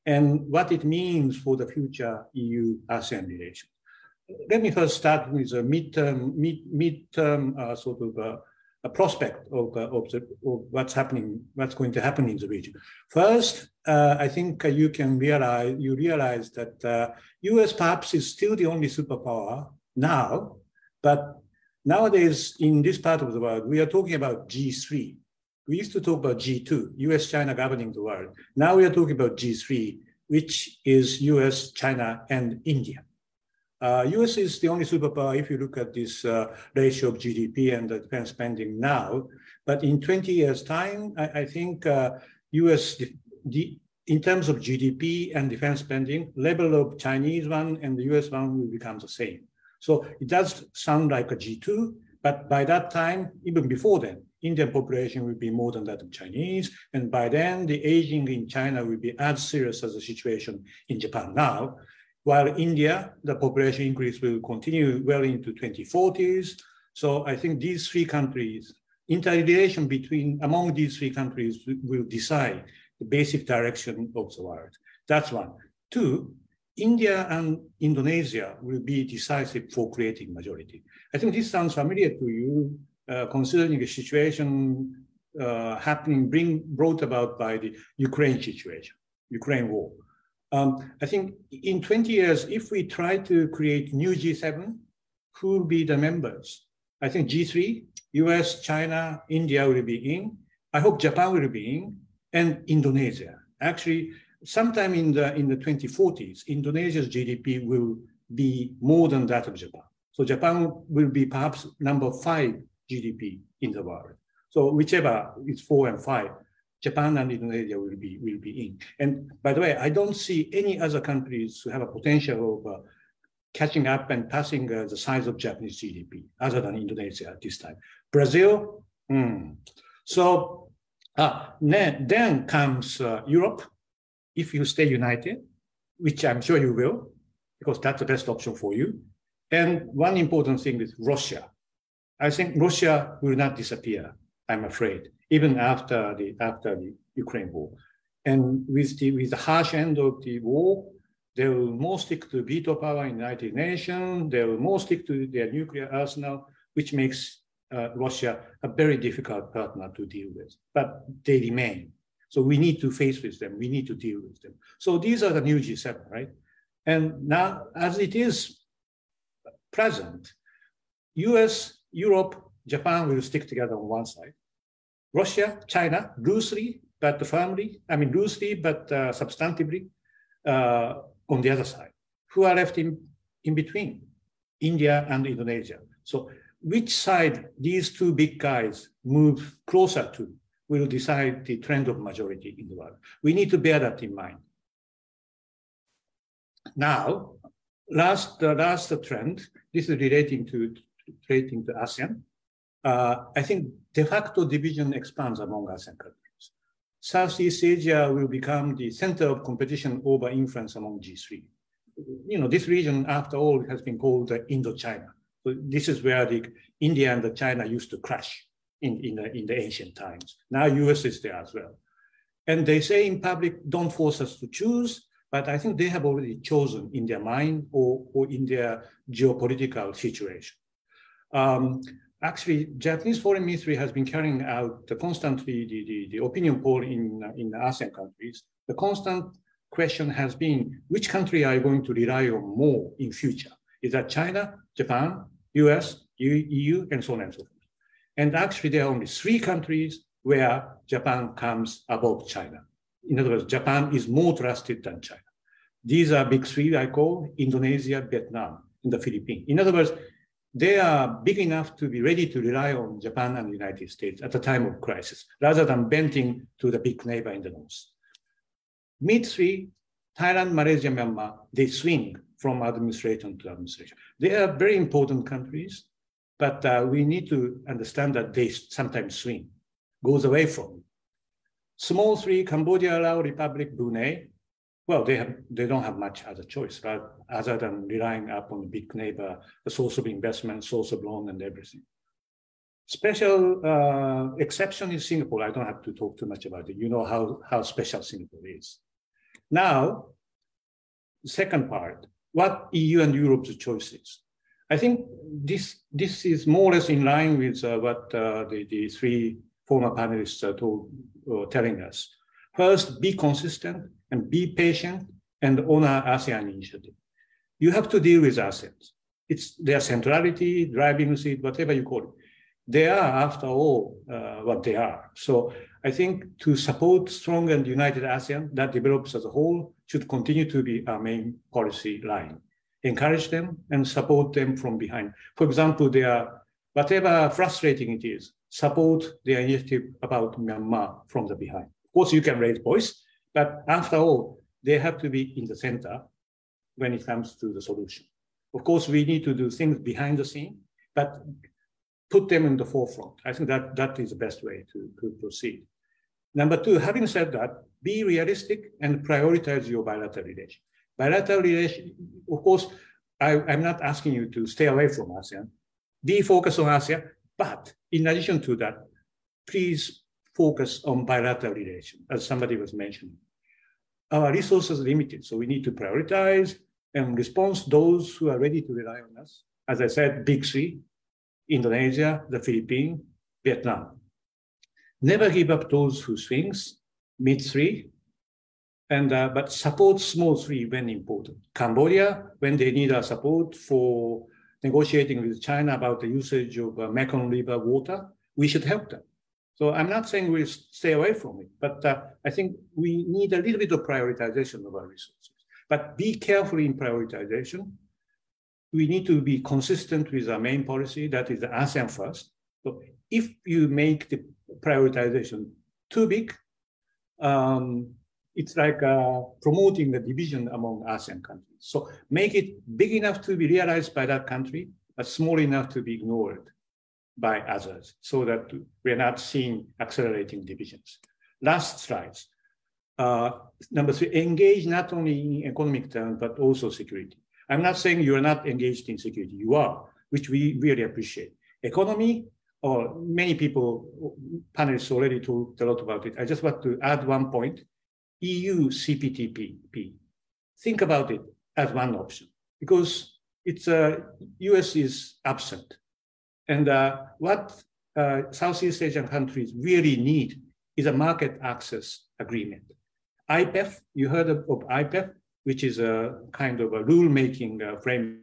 E: and what it means for the future E U ASEAN relations. Let me first start with a midterm, mid, midterm uh, sort of uh, a prospect of, uh, of, the, of what's happening, what's going to happen in the region. First, uh, I think uh, you can realize, you realize that uh, U S perhaps is still the only superpower now, but nowadays in this part of the world, we are talking about G three. We used to talk about G two, U S, China governing the world. Now we are talking about G three, which is U S, China, and India. Uh, U S is the only superpower if you look at this uh, ratio of G D P and the defense spending now. But in twenty years' time, I, I think uh, U S, the, the, in terms of G D P and defense spending, level of Chinese one and the U S one will become the same. So it does sound like a G two, but by that time, even before then, Indian population will be more than that of Chinese. And by then, the aging in China will be as serious as the situation in Japan now. While India, the population increase will continue well into twenty forties. So I think these three countries, interrelation between among these three countries will decide the basic direction of the world. That's one. Two, India and Indonesia will be decisive for creating majority. I think this sounds familiar to you, uh, considering the situation uh, happening, bring, brought about by the Ukraine situation, Ukraine war. Um, I think in twenty years, if we try to create new G seven, who will be the members? I think G three, U S, China, India will be in. I hope Japan will be in, and Indonesia. Actually, sometime in the in the twenty forties, Indonesia's G D P will be more than that of Japan. So Japan will be perhaps number five G D P in the world. So whichever is four and five, Japan and Indonesia will be will be in. And by the way, I don't see any other countries who have a potential of uh, catching up and passing uh, the size of Japanese G D P, other than Indonesia at this time. Brazil, hmm. So uh, then, then comes uh, Europe. If you stay united, which I'm sure you will, because that's the best option for you. And one important thing is Russia. I think Russia will not disappear, I'm afraid, even after the after the Ukraine war. And with the with the harsh end of the war, they will more stick to veto power in the United Nations. They will more stick to their nuclear arsenal, which makes uh, Russia a very difficult partner to deal with. But they remain. So we need to face with them. We need to deal with them. So these are the new G seven, right? And now, as it is present, U S, Europe, Japan will stick together on one side. Russia, China, loosely, but firmly, I mean, loosely, but uh, substantively, uh, on the other side. Who are left in, in between? India and Indonesia. So which side these two big guys move closer to will decide the trend of majority in the world. We need to bear that in mind. Now, last, the last trend, this is relating to, relating to ASEAN. Uh, I think de facto division expands among ASEAN countries. Southeast Asia will become the center of competition over influence among G three. You know, this region, after all, has been called uh, Indochina. So this is where the India and the China used to clash in, in, the, in the ancient times. Now U S is there as well. And they say in public, don't force us to choose, but I think they have already chosen in their mind or, or in their geopolitical situation. Um, Actually, Japanese foreign ministry has been carrying out the constantly the, the, the opinion poll in, in the ASEAN countries. The constant question has been, which country are you going to rely on more in future? Is that China, Japan, U S, E U, and so on and so forth. And actually, there are only three countries where Japan comes above China. In other words, Japan is more trusted than China. These are big three I call Indonesia, Vietnam, and the Philippines. In other words, they are big enough to be ready to rely on Japan and the United States at the time of crisis, rather than bending to the big neighbor in the north. Mid three, Thailand, Malaysia, Myanmar, they swing from administration to administration. They are very important countries, but uh, we need to understand that they sometimes swing, goes away from. Small three, Cambodia, Laos, Republic, Brunei, well, they have they don't have much other choice, right? Other than relying upon the big neighbor, the source of investment, source of loan, and everything. Special uh, exception is Singapore. I don't have to talk too much about it. You know how, how special Singapore is. Now, second part, what E U and Europe's choices? I think this, this is more or less in line with uh, what uh, the, the three former panelists are told, uh, telling us. First, be consistent and be patient and honor ASEAN initiative. You have to deal with ASEAN. It's their centrality, driving seat, whatever you call it. They are, after all, uh, what they are. So I think to support strong and united ASEAN that develops as a whole should continue to be our main policy line. Encourage them and support them from behind. For example, they are, whatever frustrating it is, support their initiative about Myanmar from the behind. Of course, you can raise voice, but after all, they have to be in the center when it comes to the solution. Of course, we need to do things behind the scene, but put them in the forefront. I think that that is the best way to, to proceed. Number two, having said that, be realistic and prioritize your bilateral relation. Bilateral relation, of course, I, I'm not asking you to stay away from ASEAN. Be focused on ASEAN, but in addition to that, please focus on bilateral relation, as somebody was mentioning. Our resources are limited, so we need to prioritize and respond to those who are ready to rely on us. As I said, big three, Indonesia, the Philippines, Vietnam. Never give up those who swings, mid three, and uh, but support small three when important. Cambodia, when they need our support for negotiating with China about the usage of uh, Mekong River water, we should help them. So I'm not saying we'll stay away from it, but uh, I think we need a little bit of prioritization of our resources. But be careful in prioritization. We need to be consistent with our main policy, that is the ASEAN first. So if you make the prioritization too big, um, it's like uh, promoting the division among ASEAN countries. So make it big enough to be realized by that country, but small enough to be ignored by others, so that we're not seeing accelerating divisions. Last slides. Uh, number three, engage not only in economic terms, but also security. I'm not saying you're not engaged in security, you are, which we really appreciate. Economy, or many people, panelists already talked a lot about it. I just want to add one point. E U C P T P. Think about it as one option, because it's uh, U S is absent. And uh, what uh, Southeast Asian countries really need is a market access agreement. I P E F, you heard of, of I P E F, which is a kind of a rule-making uh, framework.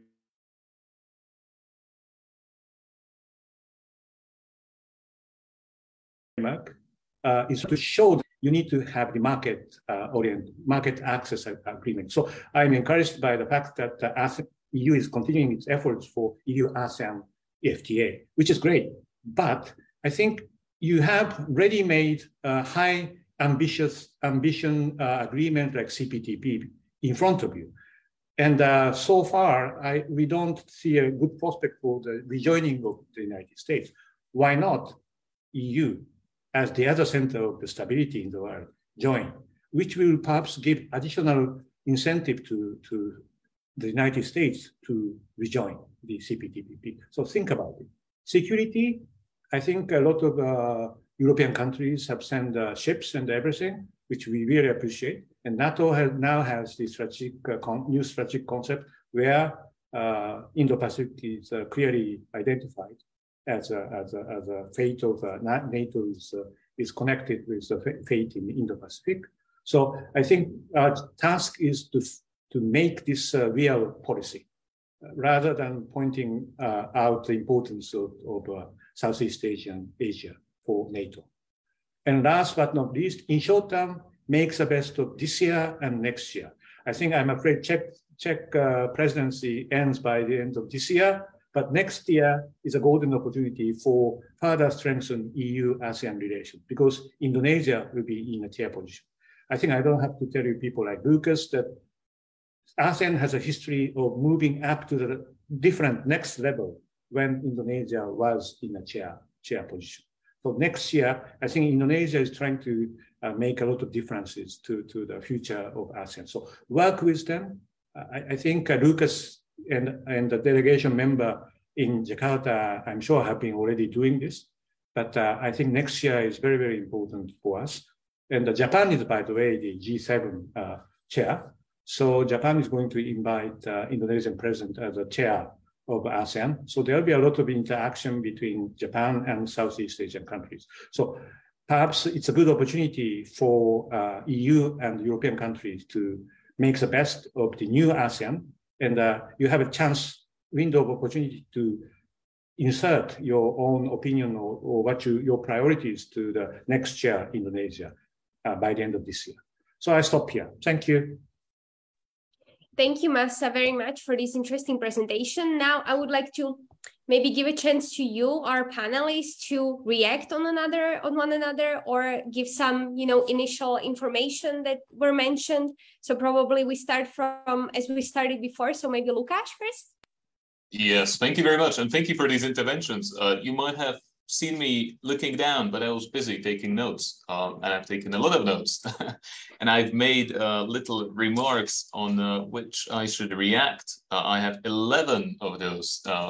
E: Uh, is to show that you need to have the market uh, orient, market access agreement. So I'm encouraged by the fact that the ASEAN, E U is continuing its efforts for E U ASEAN F T A, which is great. But I think you have ready-made uh, high ambitious ambition uh, agreement like C P T P in front of you. And uh, so far, I, we don't see a good prospect for the rejoining of the United States. Why not E U, as the other center of the stability in the world, join, which will perhaps give additional incentive to, to the United States to rejoin the C P T P P. So think about it. Security, I think a lot of uh, European countries have sent uh, ships and everything, which we really appreciate. And NATO has, now has the strategic, uh, con new strategic concept where uh, Indo-Pacific is uh, clearly identified as a, as a, as a fate of uh, NATO is, uh, is connected with the fate in Indo-Pacific. So I think our task is to, to make this uh, real policy, uh, rather than pointing uh, out the importance of, of uh, Southeast Asian Asia for NATO. And last but not least, in short term, makes the best of this year and next year. I think I'm afraid Czech, Czech uh, presidency ends by the end of this year, but next year is a golden opportunity for further strengthen E U ASEAN relations, because Indonesia will be in a chair position. I think I don't have to tell you people like Lucas that ASEAN has a history of moving up to the different next level when Indonesia was in a chair, chair position. So next year, I think Indonesia is trying to uh, make a lot of differences to, to the future of ASEAN. So work with them. I, I think uh, Lucas and, and the delegation member in Jakarta, I'm sure have been already doing this. But uh, I think next year is very, very important for us. And uh, Japan is, by the way, the G seven uh, chair. So Japan is going to invite uh, Indonesian president as a chair of ASEAN. So there'll be a lot of interaction between Japan and Southeast Asian countries. So perhaps it's a good opportunity for uh, E U and European countries to make the best of the new ASEAN. And uh, you have a chance, window of opportunity to insert your own opinion or, or what you, your priorities to the next chair, Indonesia, uh, by the end of this year. So I stop here. Thank you.
A: Thank you, Masa, very much for this interesting presentation. Now, I would like to maybe give a chance to you, our panelists, to react on another, on one another, or give some, you know, initial information that were mentioned. So probably we start from as we started before. So maybe Lukáš first.
B: Yes, thank you very much, and thank you for these interventions. Uh, you might have seen me looking down, but I was busy taking notes, um, and I've taken a lot of notes. And I've made uh, little remarks on uh, which I should react. Uh, I have eleven of those, uh,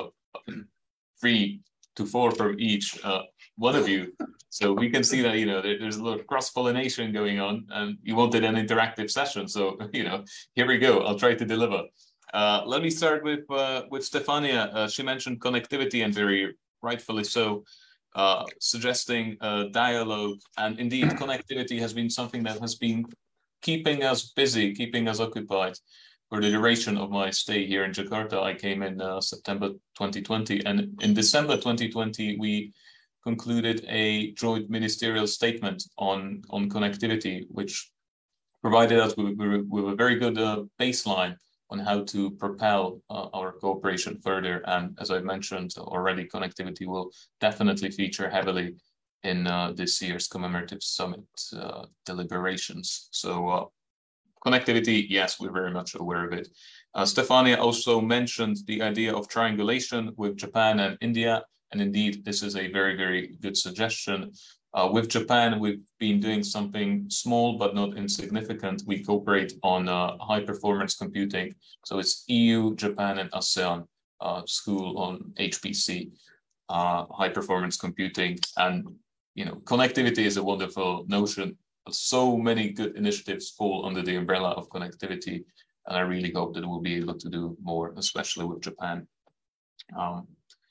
B: three to four from each uh, one of you. So we can see that, you know, there, there's a lot of cross-pollination going on, and you wanted an interactive session. So, you know, here we go. I'll try to deliver. Uh, let me start with uh, with Stefania. Uh, she mentioned connectivity, and very rightfully so, uh, suggesting a dialogue. And indeed, connectivity has been something that has been keeping us busy, keeping us occupied for the duration of my stay here in Jakarta. I came in uh, September twenty twenty, and in December twenty twenty, we concluded a joint ministerial statement on, on connectivity, which provided us with, with, with a very good uh, baseline on how to propel uh, our cooperation further. And as I mentioned already, connectivity will definitely feature heavily in uh, this year's commemorative summit uh, deliberations. So uh, connectivity, yes, we're very much aware of it. Uh, Stefania also mentioned the idea of triangulation with Japan and India. And indeed, this is a very, very good suggestion. Uh, with Japan, we've been doing something small but not insignificant. We cooperate on uh, high-performance computing. So it's E U, Japan, and ASEAN uh, school on H P C, uh, high-performance computing. And, you know, connectivity is a wonderful notion. But so many good initiatives fall under the umbrella of connectivity. And I really hope that we'll be able to do more, especially with Japan. Um,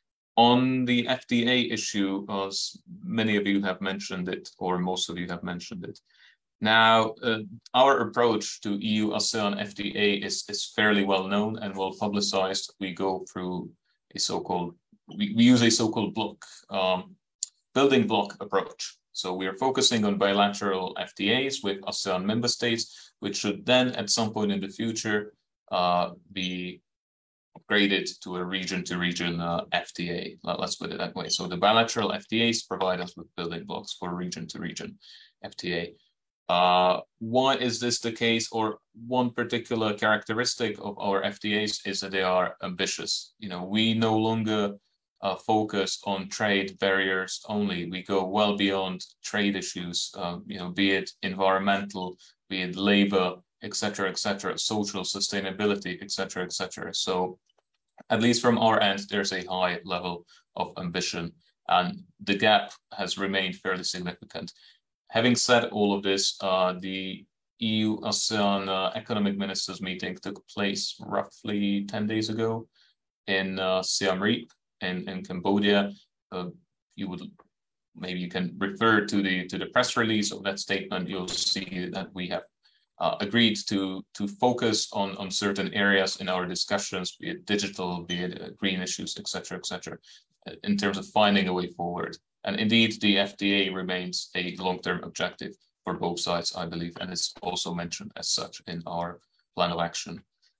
B: On the F T A issue, as many of you have mentioned it, or most of you have mentioned it. Now, uh, our approach to E U ASEAN F T A is, is fairly well known and well publicized. We go through a so-called, we, we use a so-called block, um, building block approach. So we are focusing on bilateral F T As with ASEAN member states, which should then at some point in the future uh, be upgraded to a region-to-region uh, F T A. Let's put it that way. So the bilateral F T As provide us with building blocks for region-to-region F T A. Uh, why is this the case? Or one particular characteristic of our F T As is that they are ambitious. You know, we no longer uh, focus on trade barriers only. We go well beyond trade issues. Uh, you know, be it environmental, be it labor, et cetera, et cetera, social sustainability, et cetera, et cetera. So, at least from our end, there's a high level of ambition, and the gap has remained fairly significant. Having said all of this, uh, the E U ASEAN uh, Economic Ministers meeting took place roughly ten days ago in uh, Siem Reap in, in Cambodia. Uh, you would maybe you can refer to the to the press release of that statement. You'll see that we have uh, agreed to to focus on on certain areas in our discussions, be it digital, be it uh, green issues, et cetera, et cetera, in terms of finding a way forward. And indeed, the F T A remains a long-term objective for both sides, I believe, and it's also mentioned as such in our plan of action.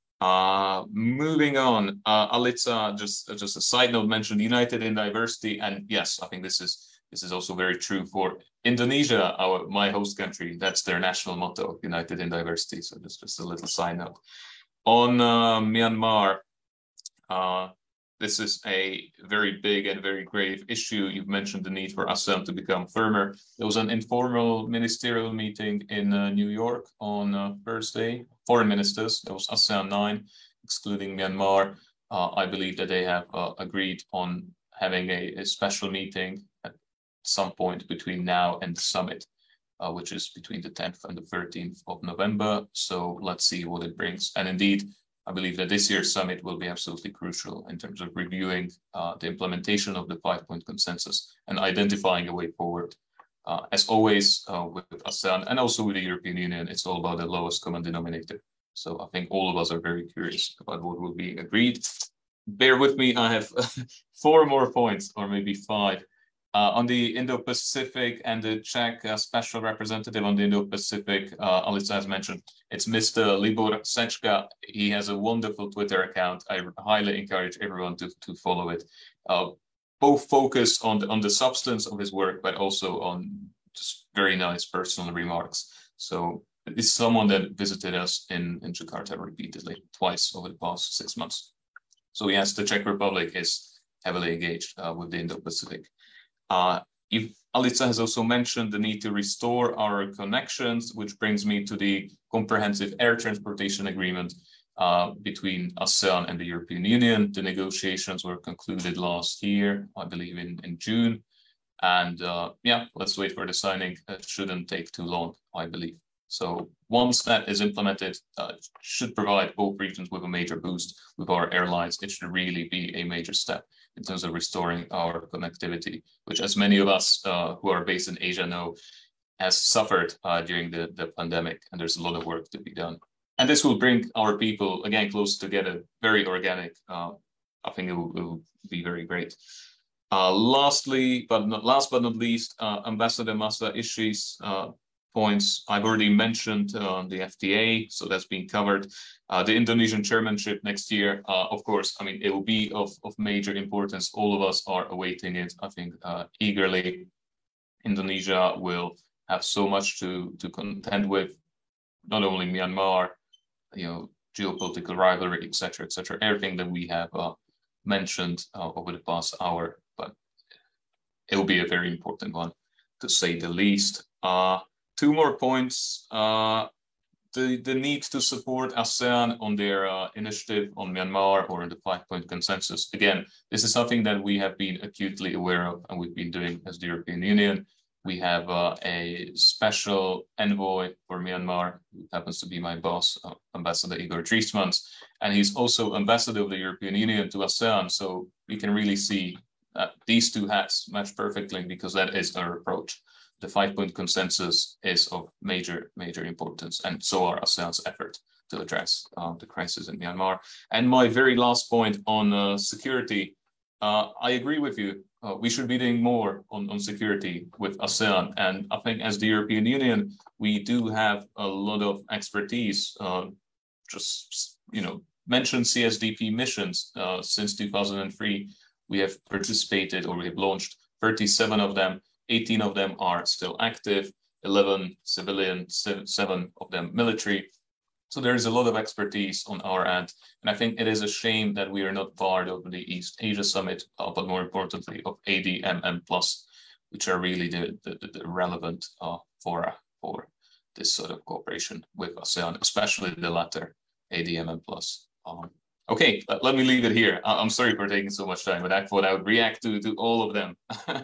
B: Uh, moving on, uh, Alitza, just just a side note, mentioned United in Diversity, and yes, I think this is this is also very true for Indonesia, our my host country. That's their national motto, United in Diversity. So just just a little side note. On uh, Myanmar. Uh, This is a very big and very grave issue. You've mentioned the need for ASEAN to become firmer. There was an informal ministerial meeting in uh, New York on uh, Thursday. Foreign ministers, there was ASEAN nine, excluding Myanmar. Uh, I believe that they have uh, agreed on having a, a special meeting at some point between now and the summit. uh, which is between the tenth and the thirteenth of November. So let's see what it brings. And indeed, I believe that this year's summit will be absolutely crucial in terms of reviewing uh, the implementation of the five-point consensus and identifying a way forward. Uh, as always, uh, with ASEAN and also with the European Union, it's all about the lowest common denominator. So I think all of us are very curious about what will be agreed. Bear with me, I have four more points, or maybe five. Uh, on the Indo-Pacific and the Czech uh, special representative on the Indo-Pacific, uh, Alica has mentioned, it's Mister Libor Sečka. He has a wonderful Twitter account. I highly encourage everyone to, to follow it. Uh, both focus on the, on the substance of his work, but also on just very nice personal remarks. So it's someone that visited us in, in Jakarta repeatedly, twice over the past six months. So yes, the Czech Republic is heavily engaged uh, with the Indo-Pacific. Uh, Alica has also mentioned the need to restore our connections, which brings me to the comprehensive air transportation agreement uh, between ASEAN and the European Union. The negotiations were concluded last year, I believe in, in June. And uh, yeah, let's wait for the signing. It shouldn't take too long, I believe. So once that is implemented, uh, it should provide both regions with a major boost with our airlines. It should really be a major step in terms of restoring our connectivity, which, as many of us uh, who are based in Asia know, has suffered uh, during the, the pandemic, and there's a lot of work to be done. And this will bring our people, again, close together, very organic. Uh, I think it will, it will be very great. Uh, lastly, but not last but not least, uh, Ambassador Masa Ishi's uh, points I've already mentioned on uh, the F T A, so that's been covered. Uh, the Indonesian chairmanship next year, uh, of course, I mean, it will be of, of major importance. All of us are awaiting it, I think, uh, eagerly. Indonesia will have so much to, to contend with, not only Myanmar, you know, geopolitical rivalry, et cetera, et cetera, everything that we have uh, mentioned uh, over the past hour, but it will be a very important one, to say the least. Uh, Two more points. Uh, the, the need to support ASEAN on their uh, initiative on Myanmar or in the five-point consensus. Again, this is something that we have been acutely aware of and we've been doing as the European Union. We have uh, a special envoy for Myanmar, who happens to be my boss, uh, Ambassador Igor Driesmans, and he's also ambassador of the European Union to ASEAN. So we can really see that these two hats match perfectly because that is our approach. The five-point consensus is of major, major importance, and so are ASEAN's efforts to address uh, the crisis in Myanmar. And my very last point on uh, security, uh, I agree with you. Uh, we should be doing more on, on security with ASEAN. And I think as the European Union, we do have a lot of expertise. Uh, just, you know, mention C S D P missions. Uh, since two thousand three, we have participated, or we have launched thirty-seven of them. eighteen of them are still active, eleven civilian, seven of them military. So there is a lot of expertise on our end. And I think it is a shame that we are not part of the East Asia Summit, uh, but more importantly of A D M M plus, which are really the, the, the relevant uh, fora for this sort of cooperation with ASEAN, especially the latter, A D M M plus. Um, okay, uh, let me leave it here. I I'm sorry for taking so much time, but I thought I would react to, to all of them.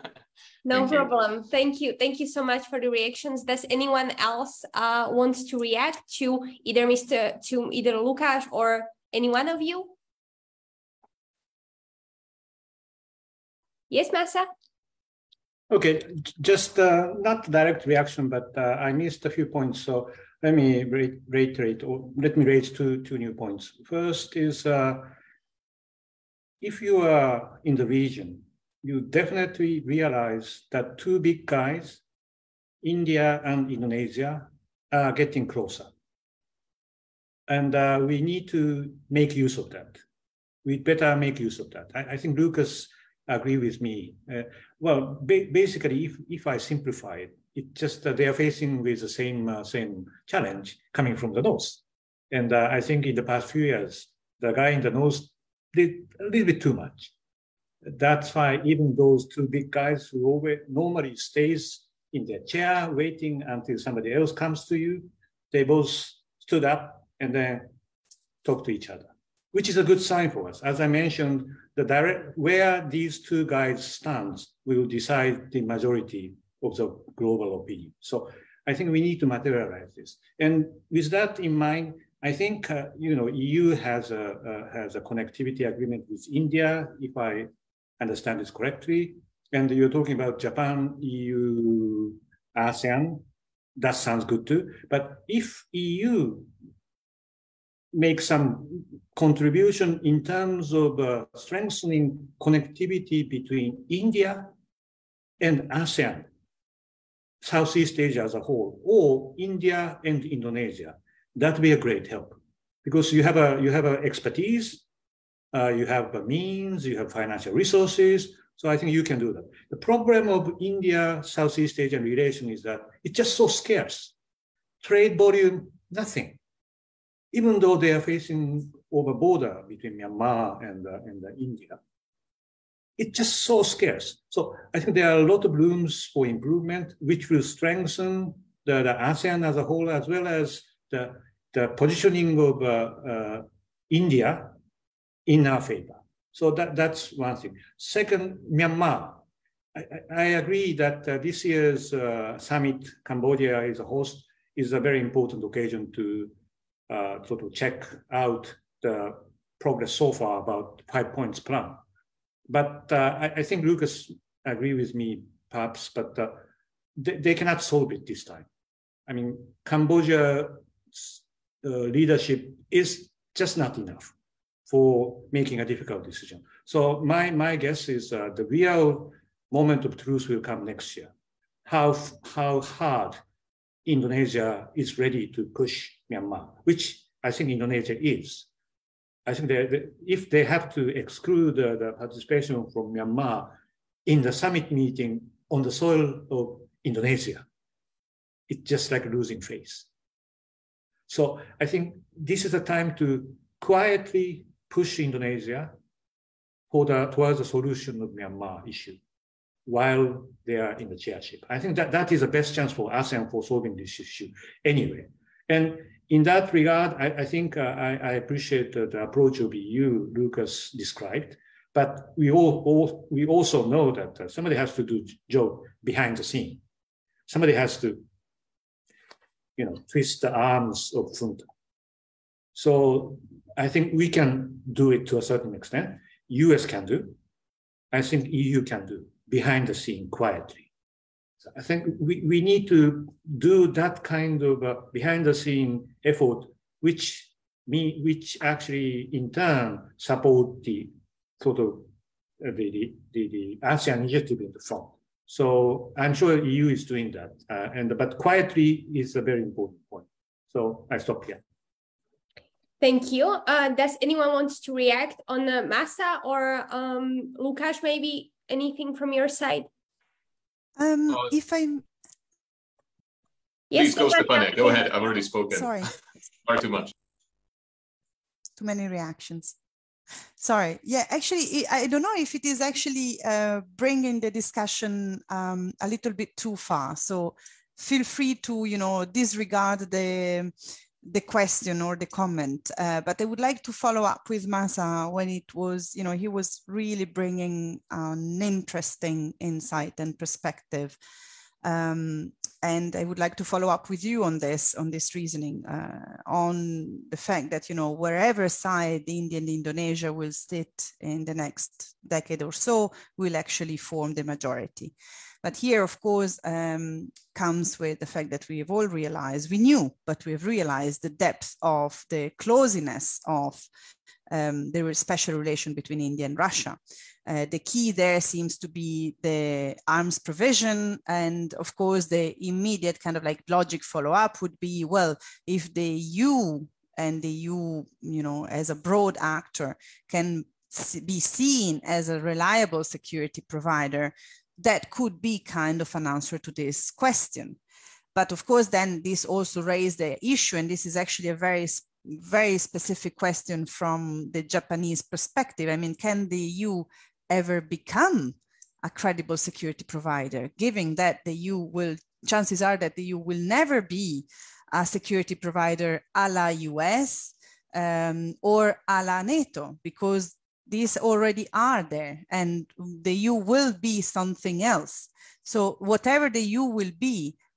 A: No
B: Thank
A: problem.
B: You.
A: Thank you. Thank you so much for the reactions. Does anyone else uh, wants to react to either Mister to either Lukáš or any one of you? Yes, Masa?
E: Okay, just uh, not direct reaction, but uh, I missed a few points. So let me re reiterate, or let me raise two, two new points. First is, uh, if you are in the region, you definitely realize that two big guys, India and Indonesia, are getting closer. And uh, we need to make use of that. We better make use of that. I, I think Lucas agree with me. Uh, well, ba basically, if, if I simplify it, it's just that they are facing with the same, uh, same challenge coming from the north. And uh, I think in the past few years, the guy in the north did a little bit too much. That's why even those two big guys who always normally stays in their chair waiting until somebody else comes to you, they both stood up and then talked to each other, which is a good sign for us. As I mentioned, the direct where these two guys stand will decide the majority of the global opinion. So I think we need to materialize this. And with that in mind, I think, uh, you know, E U has a, uh, has a connectivity agreement with India, if I understand this correctly. And you're talking about Japan, E U, ASEAN. That sounds good too. But if E U makes some contribution in terms of uh, strengthening connectivity between India and ASEAN, Southeast Asia as a whole, or India and Indonesia, that would be a great help, because you have a you have a expertise, uh, you have a means, you have financial resources. So I think you can do that. The problem of India Southeast Asian relation is that it's just so scarce. Trade volume, nothing. Even though they are facing over border between Myanmar and uh, and uh, India, it's just so scarce. So I think there are a lot of rooms for improvement, which will strengthen the, the ASEAN as a whole, as well as the, the positioning of uh, uh, India in our favor. So that, that's one thing. Second, Myanmar. I, I agree that uh, this year's uh, summit, Cambodia is a host, is a very important occasion to uh, sort of check out the progress so far about five points plan. But uh, I, I think Lucas agree with me, perhaps, but uh, they, they cannot solve it this time. I mean, Cambodia uh, leadership is just not enough for making a difficult decision. So my, my guess is uh, the real moment of truth will come next year. How, how hard Indonesia is ready to push Myanmar, which I think Indonesia is. I think they, they, if they have to exclude uh, the participation from Myanmar in the summit meeting on the soil of Indonesia, it's just like losing face. So I think this is a time to quietly push Indonesia for the, towards the solution of Myanmar issue while they are in the chairship. I think that that is the best chance for ASEAN for solving this issue anyway. And in that regard, I, I think uh, I, I appreciate uh, the approach of E U Lucas described, but we all, all we also know that uh, somebody has to do job behind the scene. Somebody has to, you know, twist the arms of junta. So I think we can do it to a certain extent. U S can do. I think E U can do behind the scene quietly. So I think we, we need to do that kind of uh, behind the scene effort, which me, which actually in turn support the sort of uh, the, the, the ASEAN initiative in the front. So I'm sure E U is doing that, uh, and but quietly is a very important point. So I stop here.
A: Thank you. Uh, does anyone want to react on uh, Masa or um, Lukáš, maybe anything from your side?
C: Um,
B: uh,
C: if I'm...
B: Please
A: Yes,
B: go, Stefania. Go ahead. I've already spoken.
C: Sorry.
B: Far too much.
C: Too many reactions. Sorry. Yeah, actually, I don't know if it is actually uh, bringing the discussion um, a little bit too far. So feel free to, you know, disregard the the question or the comment. Uh, but I would like to follow up with Masa when it was, you know, he was really bringing an interesting insight and perspective. Um, and I would like to follow up with you on this, on this reasoning, uh, on the fact that, you know, wherever side India and Indonesia will sit in the next decade or so, will actually form the majority. But here, of course, um, comes with the fact that we have all realized, we knew, but we have realized the depth of the closeness of um, the special relation between India and Russia. Uh, the key there seems to be the arms provision. And of course, the immediate kind of like logic follow-up would be, well, if the E U and the E U, you know, as a broad actor can be seen as a reliable security provider, that could be kind of an answer to this question. But of course, then this also raised the issue, and this is actually a very, very specific question from the Japanese perspective. I mean, can the E U ever become a credible security provider, given that the E U will, chances are that the E U will never be a security provider a la U S um, or a la NATO, because these already are there, and the E U will be something else. So whatever the E U will be,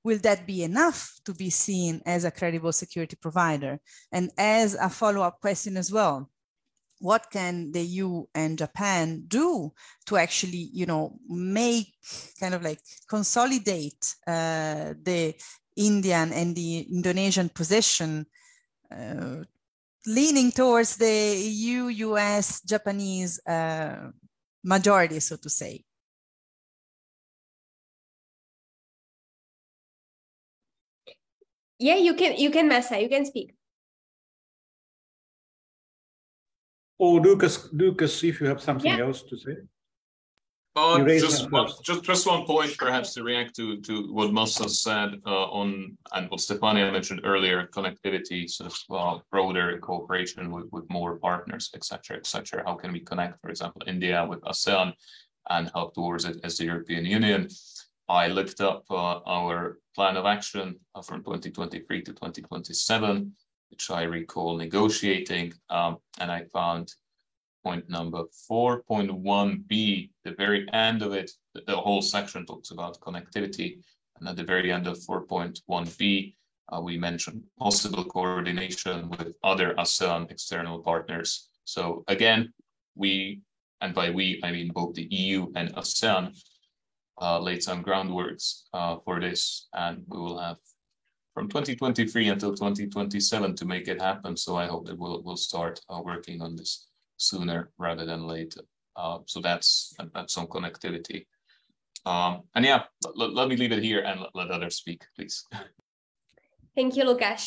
C: will that be enough to be seen as a credible security provider? And as a follow-up question as well, what can the E U and Japan do to actually, you know, make kind of like consolidate uh, the Indian and the Indonesian position, uh, leaning towards the E U, U S, Japanese uh, majority, so to say?
A: Yeah, you can, you can, Masa, you can speak.
E: Or Lucas, Lucas, if you have something
A: Yeah.
E: else to say.
B: Uh, just, one, just just one point, perhaps, to react to to what Masa said uh, on, and what Stefania mentioned earlier, connectivity, sort of uh, broader cooperation with, with more partners, et cetera, et cetera. How can we connect, for example, India with ASEAN and help towards it as the European Union? I looked up uh, our plan of action uh, from twenty twenty-three to twenty twenty-seven, which I recall negotiating, um, and I found point number four point one B, the very end of it, the, the whole section talks about connectivity. And at the very end of four point one B, uh, we mentioned possible coordination with other ASEAN external partners. So again, we, and by we, I mean both the E U and ASEAN, uh, laid some groundworks uh, for this, and we will have from twenty twenty-three until twenty twenty-seven to make it happen. So I hope that we'll, we'll start uh, working on this sooner rather than later. Uh, so that's that's on connectivity. Um, and yeah, let, let me leave it here and let, let others speak, please.
A: Thank you, Lukasz.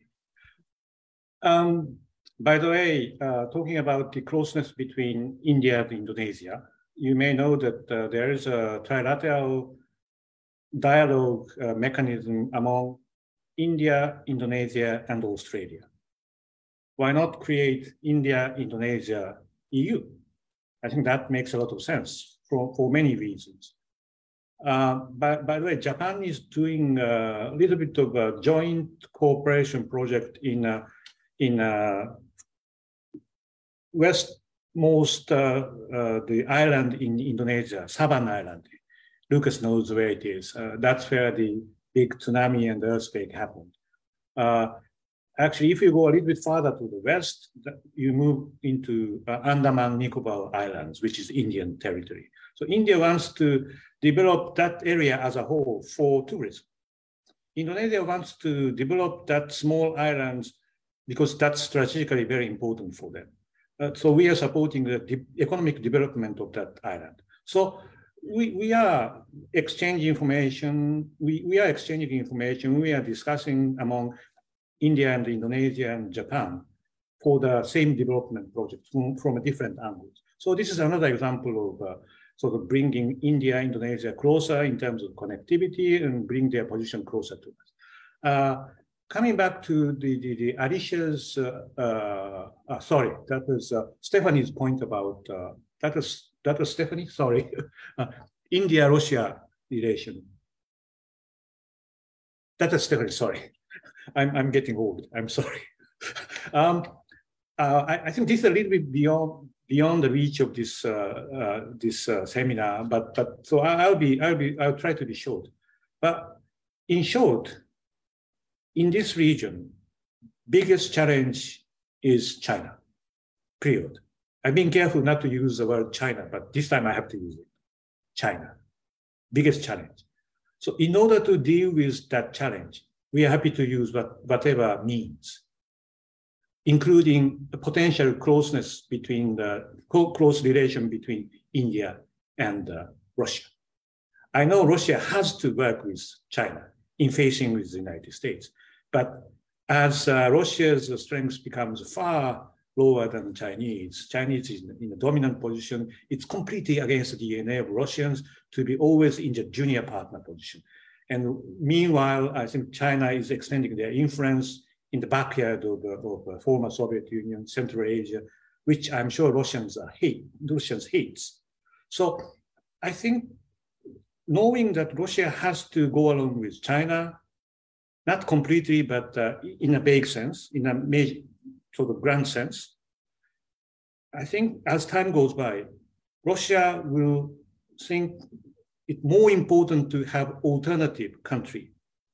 E: Um, by the way, uh, talking about the closeness between India and Indonesia, you may know that uh, there is a trilateral dialogue uh, mechanism among India, Indonesia, and Australia. Why not create India, Indonesia, E U? I think that makes a lot of sense for, for many reasons. Uh, by, by the way, Japan is doing a little bit of a joint cooperation project in, uh, in uh, westmost uh, uh, the island in Indonesia, Saban Island. Lucas knows where it is. Uh, that's where the big tsunami and earthquake happened. Uh, Actually, if you go a little bit farther to the west, you move into uh, Andaman Nicobar Islands, which is Indian territory. So India wants to develop that area as a whole for tourism. Indonesia wants to develop that small islands because that's strategically very important for them. Uh, so we are supporting the de economic development of that island. So we, we are exchanging information. We, we are exchanging information. We are discussing among India and Indonesia and Japan for the same development project from, from a different angle. So this is another example of uh, sort of bringing India, Indonesia closer in terms of connectivity and bring their position closer to us. Uh, coming back to the, the, the Alicia's, uh, uh, uh, sorry, that was uh, Stephanie's point about, uh, that was, that was Stephanie, sorry, uh, India-Russia relation. That was Stephanie, sorry. I'm, I'm getting old, I'm sorry. um, uh, I, I think this is a little bit beyond beyond the reach of this uh, uh, this uh, seminar, but but so I'll be I'll be I'll try to be short. But in short, in this region, biggest challenge is China. Period. I've been careful not to use the word China, but this time I have to use it. China, biggest challenge. So in order to deal with that challenge, we are happy to use what, whatever means, including a potential closeness between the close relation between India and uh, Russia. I know Russia has to work with China in facing with the United States, but as uh, Russia's strength becomes far lower than Chinese, Chinese is in a dominant position, it's completely against the D N A of Russians to be always in the junior partner position. And meanwhile, I think China is extending their influence in the backyard of, of the former Soviet Union, Central Asia, which I'm sure Russians hate, Russians hates. So I think knowing that Russia has to go along with China, not completely, but uh, in a vague sense, in a major, sort of grand sense, I think as time goes by, Russia will think it's more important to have alternative country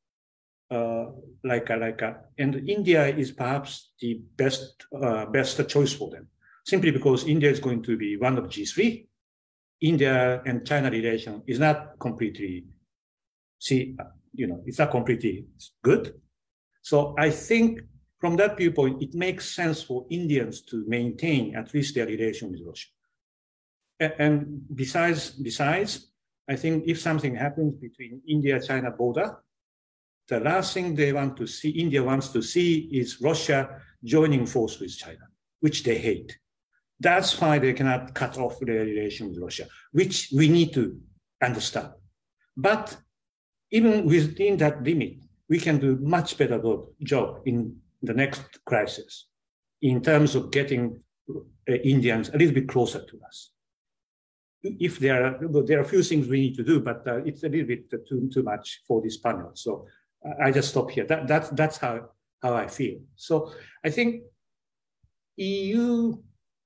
E: uh, like a, like a, and India is perhaps the best uh, best choice for them, simply because India is going to be one of G three. India and China relation is not completely, see, you know, it's not completely good. So I think from that viewpoint, it makes sense for Indians to maintain at least their relation with Russia. And besides, besides, I think if something happens between India-China border, the last thing they want to see, India wants to see, is Russia joining force with China, which they hate. That's why they cannot cut off their relation with Russia, which we need to understand. But even within that limit, we can do much better job in the next crisis in terms of getting uh, Indians a little bit closer to us. If there are, there are a few things we need to do, but uh, it's a little bit too, too much for this panel. So I just stop here. That, that's, that's how, how I feel. So I think E U,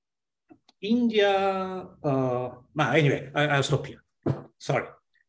E: India, uh, anyway, I, I'll stop here. Sorry.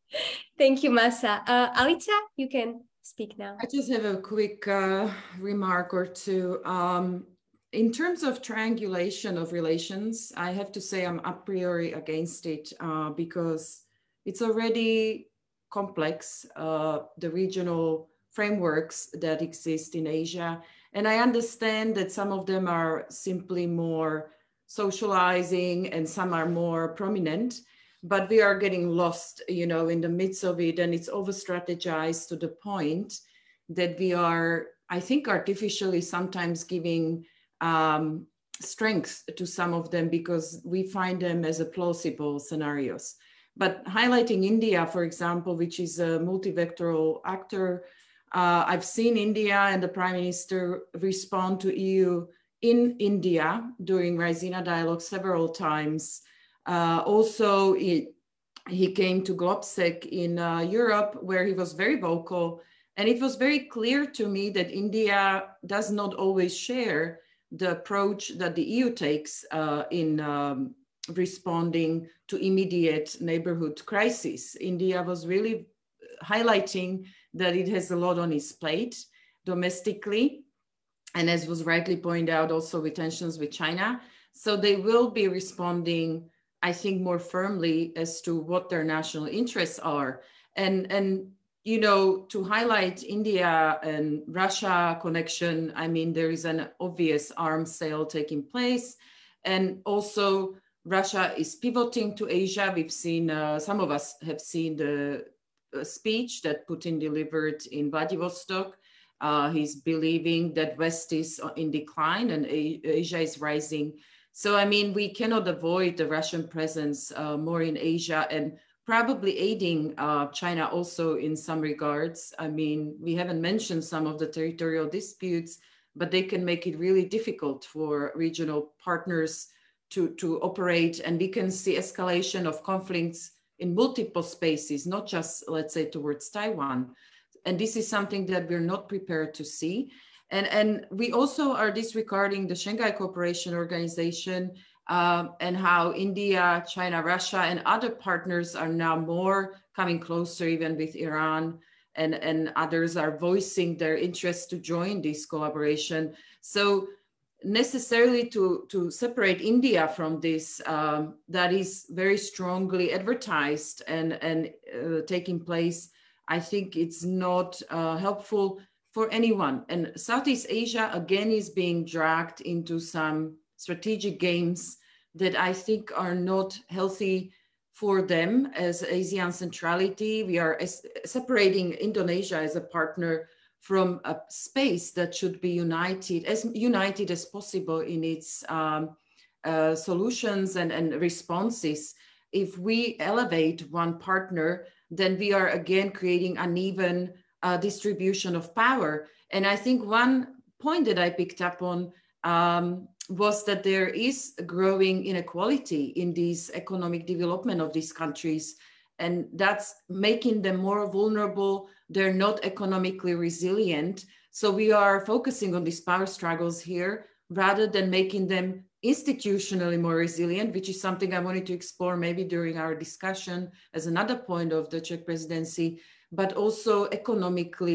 A: Thank you, Masa. Uh, Alica, you can speak now.
D: I just have a quick uh, remark or two. Um, in terms of triangulation of relations, I have to say I'm a priori against it uh, because it's already complex, uh, the regional frameworks that exist in Asia. And I understand that some of them are simply more socializing and some are more prominent, but we are getting lost, you know, in the midst of it, and it's over strategized to the point that we are, I think, artificially sometimes giving um, strength to some of them because we find them as a plausible scenarios. But highlighting India, for example, which is a multivectoral actor, uh, I've seen India and the Prime Minister respond to E U in India during Raisina dialogue several times. Uh, also, he, he came to GlobSec in uh, Europe, where he was very vocal. And it was very clear to me that India does not always share the approach that the E U takes uh, in um, responding to immediate neighborhood crises. India was really highlighting that it has a lot on its plate domestically. And as was rightly pointed out, also with tensions with China. So they will be responding, I think, more firmly as to what their national interests are. And, and you know, to highlight India and Russia connection, I mean, there is an obvious arms sale taking place. And also Russia is pivoting to Asia. We've seen, uh, some of us have seen the uh, speech that Putin delivered in Vladivostok. Uh, he's believing that West is in decline and A Asia is rising. So, I mean, we cannot avoid the Russian presence uh, more in Asia and probably aiding uh, China also in some regards. I mean, we haven't mentioned some of the territorial disputes, but they can make it really difficult for regional partners to, to operate. And we can see escalation of conflicts in multiple spaces, not just, let's say, towards Taiwan. And this is something that we're not prepared to see. And, and we also are disregarding the Shanghai Cooperation Organization um, and how India, China, Russia, and other partners are now more coming closer, even with Iran, and, and others are voicing their interest to join this collaboration. So necessarily to, to separate India from this, um, that is very strongly advertised and, and uh, taking place, I think it's not uh, helpful for anyone. And Southeast Asia, again, is being dragged into some strategic games that I think are not healthy for them as ASEAN centrality. We are separating Indonesia as a partner from a space that should be united, as united as possible in its um, uh, solutions and, and responses. If we elevate one partner, then we are again creating uneven uh, distribution of power. And I think one point that I picked up on um, was that there is a growing inequality in this economic development of these countries. And that's making them more vulnerable. They're not economically resilient. So we are focusing on these power struggles here rather than making them institutionally more resilient, which is something I wanted to explore maybe during our discussion as another point of the Czech presidency, but also economically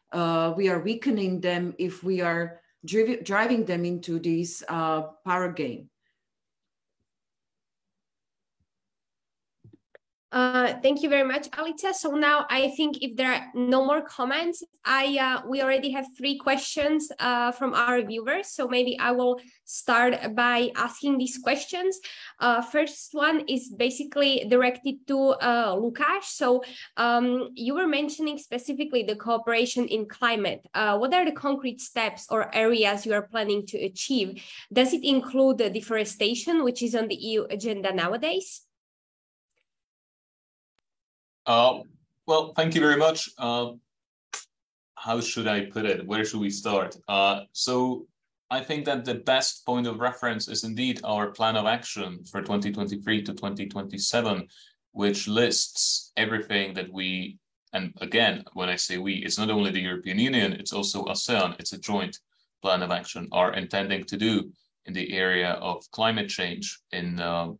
D: uh, we are weakening them if we are driv driving them into this uh, power game.
A: Uh, thank you very much, Alica. So now I think if there are no more comments, I uh, we already have three questions uh, from our viewers. So maybe I will start by asking these questions. Uh, first one is basically directed to uh, Lukáš. So um, you were mentioning specifically the cooperation in climate. Uh, what are the concrete steps or areas you are planning to achieve? Does it include the deforestation, which is on the E U agenda nowadays?
B: Uh, well, thank you very much. Uh, how should I put it? Where should we start? Uh, so I think that the best point of reference is indeed our plan of action for twenty twenty-three to twenty twenty-seven, which lists everything that we, and again, when I say we, it's not only the European Union, it's also ASEAN, it's a joint plan of action, are intending to do in the area of climate change in uh,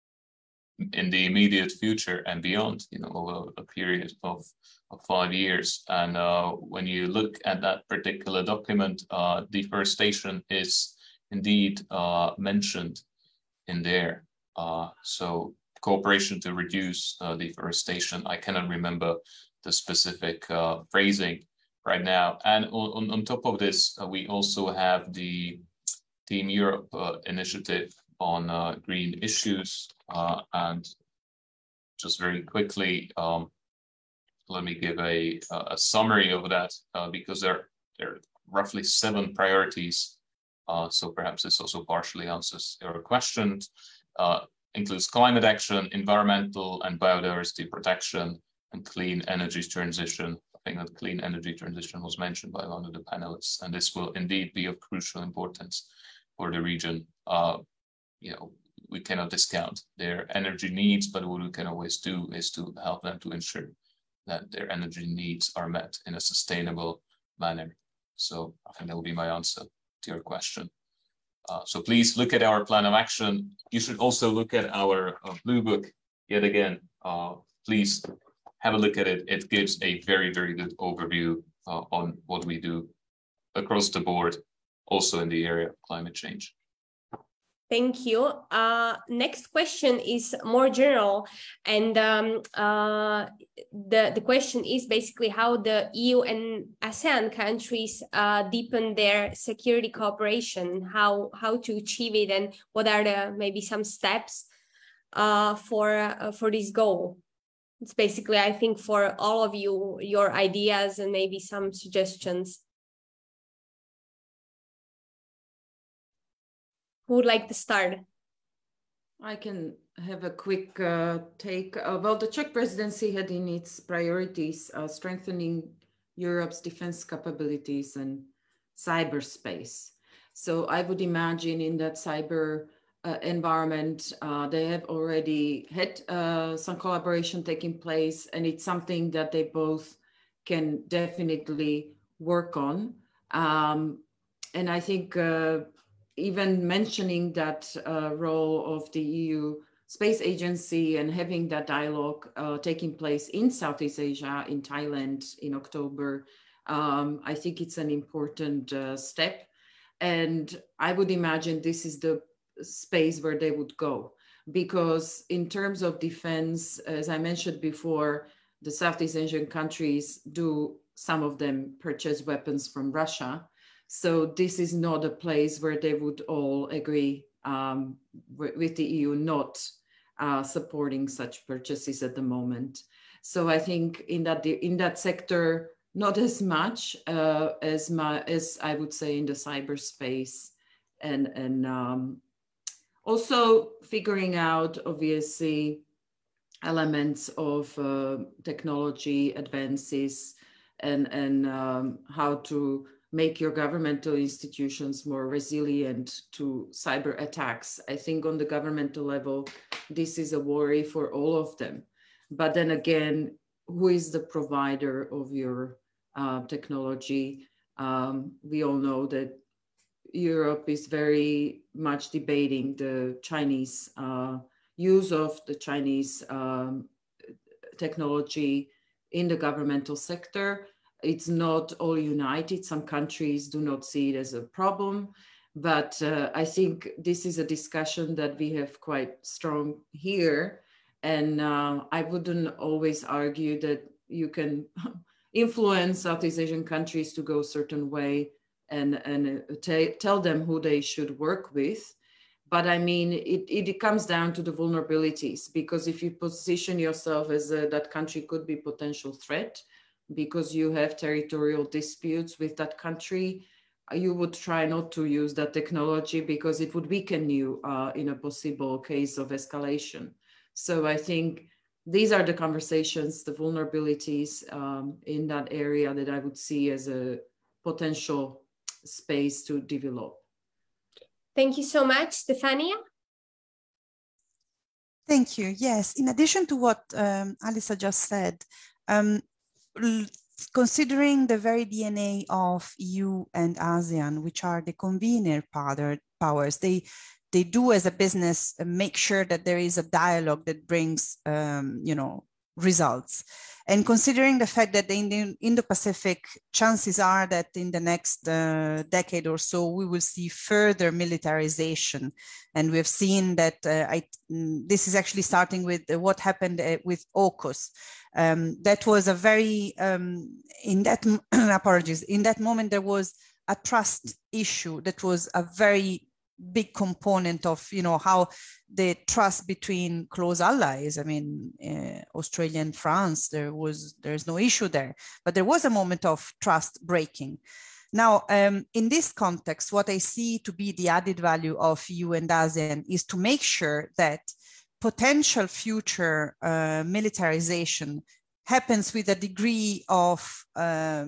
B: in the immediate future and beyond, you know, over a period of, of five years. And uh, when you look at that particular document, uh, deforestation is indeed uh, mentioned in there. Uh, so cooperation to reduce uh, deforestation, I cannot remember the specific uh, phrasing right now. And on, on top of this, uh, we also have the Team Europe uh, initiative on uh, green issues. Uh, and just very quickly, um, let me give a, a summary of that, uh, because there, there are roughly seven priorities. Uh, so perhaps this also partially answers your question. Uh, includes climate action, environmental and biodiversity protection, and clean energy transition. I think that clean energy transition was mentioned by one of the panelists, and this will indeed be of crucial importance for the region. Uh, you know, we cannot discount their energy needs, but what we can always do is to help them to ensure that their energy needs are met in a sustainable manner. So I think that will be my answer to your question. Uh, so please look at our plan of action. You should also look at our uh, blue book yet again. Uh, please have a look at it. It gives a very, very good overview uh, on what we do across the board, also in the area of climate change.
A: Thank you. Uh, next question is more general, and um, uh, the, the question is basically how the E U and ASEAN countries uh, deepen their security cooperation, how, how to achieve it, and what are the maybe some steps uh, for, uh, for this goal. It's basically, I think, for all of you, your ideas and maybe some suggestions. Who would like to start?
D: I can have a quick uh, take. Uh, well, the Czech presidency had in its priorities uh, strengthening Europe's defense capabilities and cyberspace. So I would imagine in that cyber uh, environment, uh, they have already had uh, some collaboration taking place, and it's something that they both can definitely work on. Um, and I think uh, even mentioning that uh, role of the E U Space Agency and having that dialogue uh, taking place in Southeast Asia, in Thailand in October, um, I think it's an important uh, step. And I would imagine this is the space where they would go. Because in terms of defense, as I mentioned before, the Southeast Asian countries do, some of them purchase weapons from Russia. So this is not a place where they would all agree um, with the E U not uh, supporting such purchases at the moment. So I think in that in that sector, not as much uh, as my as I would say in the cyberspace, and and um, also figuring out obviously elements of uh, technology advances and and um, how to make your governmental institutions more resilient to cyber attacks. I think on the governmental level, this is a worry for all of them. But then again, who is the provider of your uh, technology? Um, we all know that Europe is very much debating the Chinese uh, use of the Chinese um, technology in the governmental sector. it's not all united. Some countries do not see it as a problem, but uh, I think this is a discussion that we have quite strong here. And uh, I wouldn't always argue that you can influence Southeast Asian countries to go a certain way and, and tell them who they should work with. But I mean, it, it comes down to the vulnerabilities, because if you position yourself as a, that country could be potential threat because you have territorial disputes with that country, you would try not to use that technology because it would weaken you uh, in a possible case of escalation. So I think these are the conversations, the vulnerabilities um, in that area that I would see as a potential space to develop.
A: Thank you so much, Stefania.
C: Thank you. Yes, in addition to what um, Alisa just said, um, considering the very D N A of E U and ASEAN, which are the convener powers, they they do as a business make sure that there is a dialogue that brings, um, you know, results. And considering the fact that in the Indo-Pacific, chances are that in the next uh, decade or so, we will see further militarization. And we've seen that uh, I, this is actually starting with what happened uh, with AUKUS. Um, that was a very, um, in that, apologies, in that moment, there was a trust issue that was a very big component of, you know, how the trust between close allies. I mean, uh, Australia and France, there was, there's no issue there, but there was a moment of trust breaking. Now, um, in this context, what I see to be the added value of E U and ASEAN is to make sure that potential future uh, militarization happens with a degree of uh,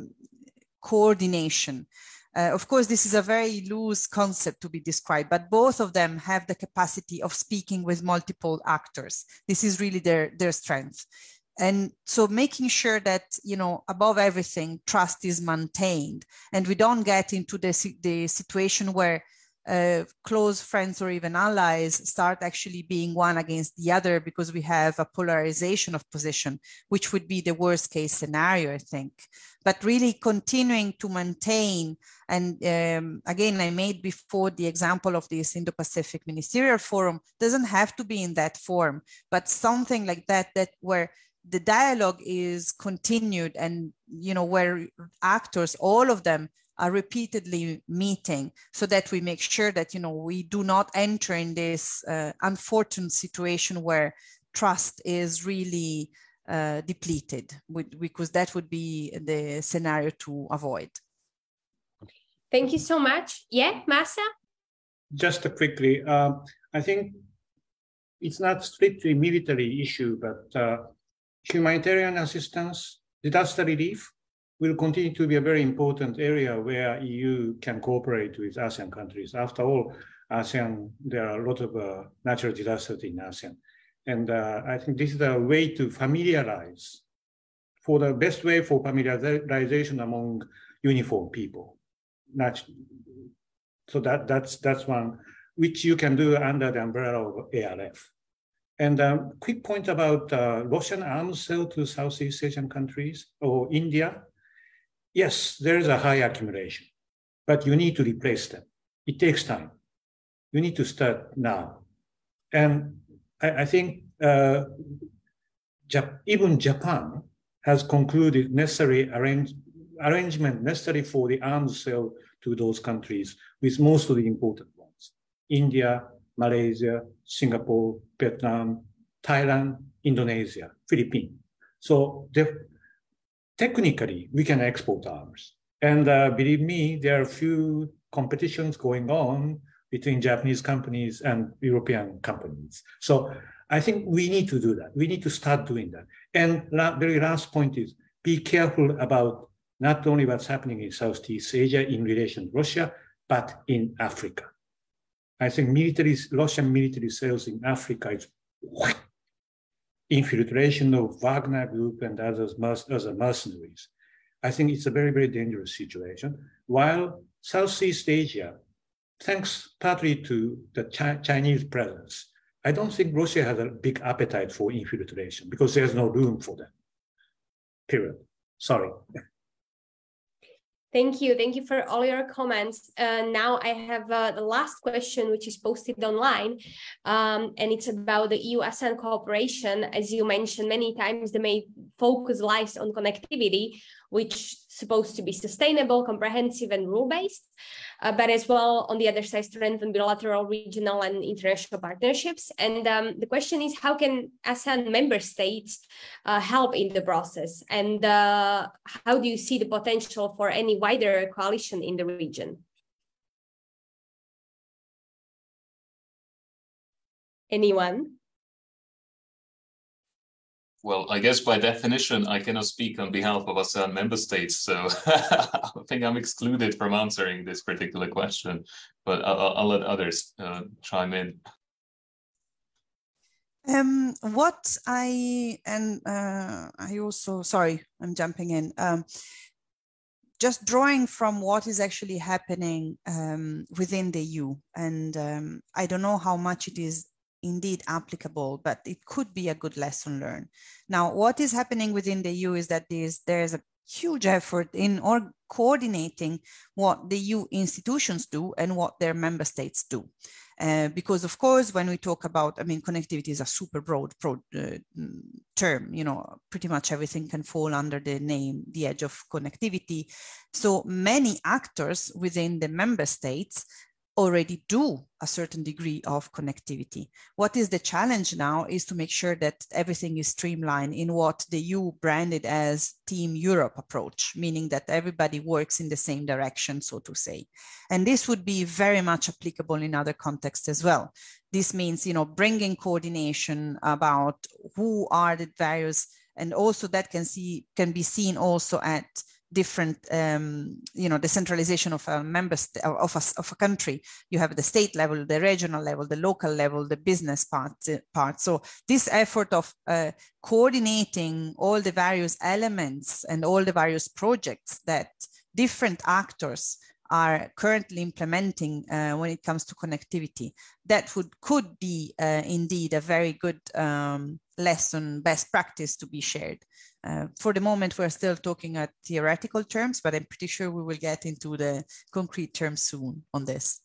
C: coordination. Uh, of course, this is a very loose concept to be described, but both of them have the capacity of speaking with multiple actors. This is really their, their strength. And so making sure that, you know, above everything, trust is maintained and we don't get into the, the situation where uh, close friends or even allies start actually being one against the other because we have a polarization of position, which would be the worst case scenario, I think. But really continuing to maintain, and um, again, I made before the example of this Indo-Pacific Ministerial Forum, doesn't have to be in that form, but something like that, that where the dialogue is continued and, you know, where actors, all of them, are repeatedly meeting so that we make sure that, you know, we do not enter in this uh, unfortunate situation where trust is really uh, depleted, because that would be the scenario to avoid.
A: Thank you so much. Yeah, Masa?
E: Just quickly, uh, I think it's not strictly military issue, but uh, humanitarian assistance, disaster relief, will continue to be a very important area where E U can cooperate with ASEAN countries. After all, ASEAN, there are a lot of uh, natural disasters in ASEAN. And uh, I think this is a way to familiarize, for the best way for familiarization among uniform people. So that, that's, that's one, which you can do under the umbrella of A R F. And a um, quick point about uh, Russian arms sale to Southeast Asian countries or India. Yes, there is a high accumulation, but you need to replace them. It takes time. You need to start now. And I, I think uh, Jap even Japan has concluded necessary arrange arrangement necessary for the arms sale to those countries with most of the important ones. India, Malaysia, Singapore, Vietnam, Thailand, Indonesia, Philippines. So technically, we can export arms. And uh, believe me, there are a few competitions going on between Japanese companies and European companies. So I think we need to do that. We need to start doing that. And la very last point is, be careful about not only what's happening in Southeast Asia in relation to Russia, but in Africa. I think military, Russian military sales in Africa is infiltration of Wagner Group and others, other mercenaries. I think it's a very, very dangerous situation. While Southeast Asia, thanks partly to the Chi Chinese presence, I don't think Russia has a big appetite for infiltration because there's no room for them, period. Sorry.
A: Thank you. Thank you for all your comments. Uh, now I have uh, the last question, which is posted online, um, and it's about the E U ASEAN cooperation. As you mentioned many times, the main focus lies on connectivity, which is supposed to be sustainable, comprehensive, and rule-based, uh, but as well, on the other side, strengthen bilateral, regional, and international partnerships. And um, the question is, how can ASEAN member states uh, help in the process? And uh, how do you see the potential for any wider coalition in the region? Anyone?
B: Well, I guess by definition, I cannot speak on behalf of ASEAN member states, so I think I'm excluded from answering this particular question, but I'll, I'll let others uh, chime in.
C: Um, what I, and uh, I also, sorry, I'm jumping in. Um, just drawing from what is actually happening um, within the E U, and um, I don't know how much it is indeed applicable, but it could be a good lesson learned. Now, what is happening within the E U is that there's, there's a huge effort in or coordinating what the E U institutions do and what their member states do. Uh, because of course, when we talk about, I mean, connectivity is a super broad, broad uh, term, you know, pretty much everything can fall under the name, the edge of connectivity. So many actors within the member states already do a certain degree of connectivity. What is the challenge now is to make sure that everything is streamlined in what the E U branded as Team Europe approach, meaning that everybody works in the same direction, so to say. And this would be very much applicable in other contexts as well. This means, you know, bringing coordination about who are the various, and also that can see can be seen also at different, um, you know, the centralization of a member of a, of a country. You have the state level, the regional level, the local level, the business part. part. So this effort of uh, coordinating all the various elements and all the various projects that different actors are currently implementing uh, when it comes to connectivity, that would could be uh, indeed a very good um, lesson, best practice to be shared. Uh, for the moment, we're still talking at theoretical terms, but I'm pretty sure we will get into the concrete terms soon on this.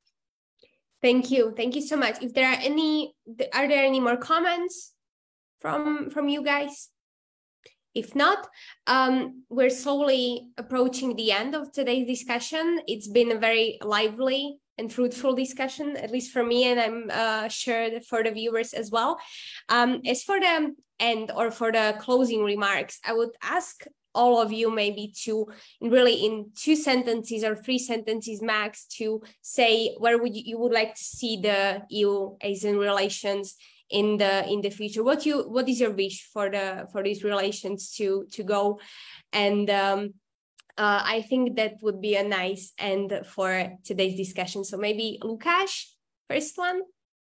A: Thank you. Thank you so much. If there are any, are there any more comments from, from you guys? If not, um, we're slowly approaching the end of today's discussion. It's been a very lively and fruitful discussion, at least for me, and I'm uh, sure that for the viewers as well. Um, as for the end or for the closing remarks, I would ask all of you maybe to really in two sentences or three sentences max to say where would you, you would like to see the E U-ASEAN relations in the in the future. What you what is your wish for the for these relations to to go? And um, uh, I think that would be a nice end for today's discussion. So maybe Lukáš, first one.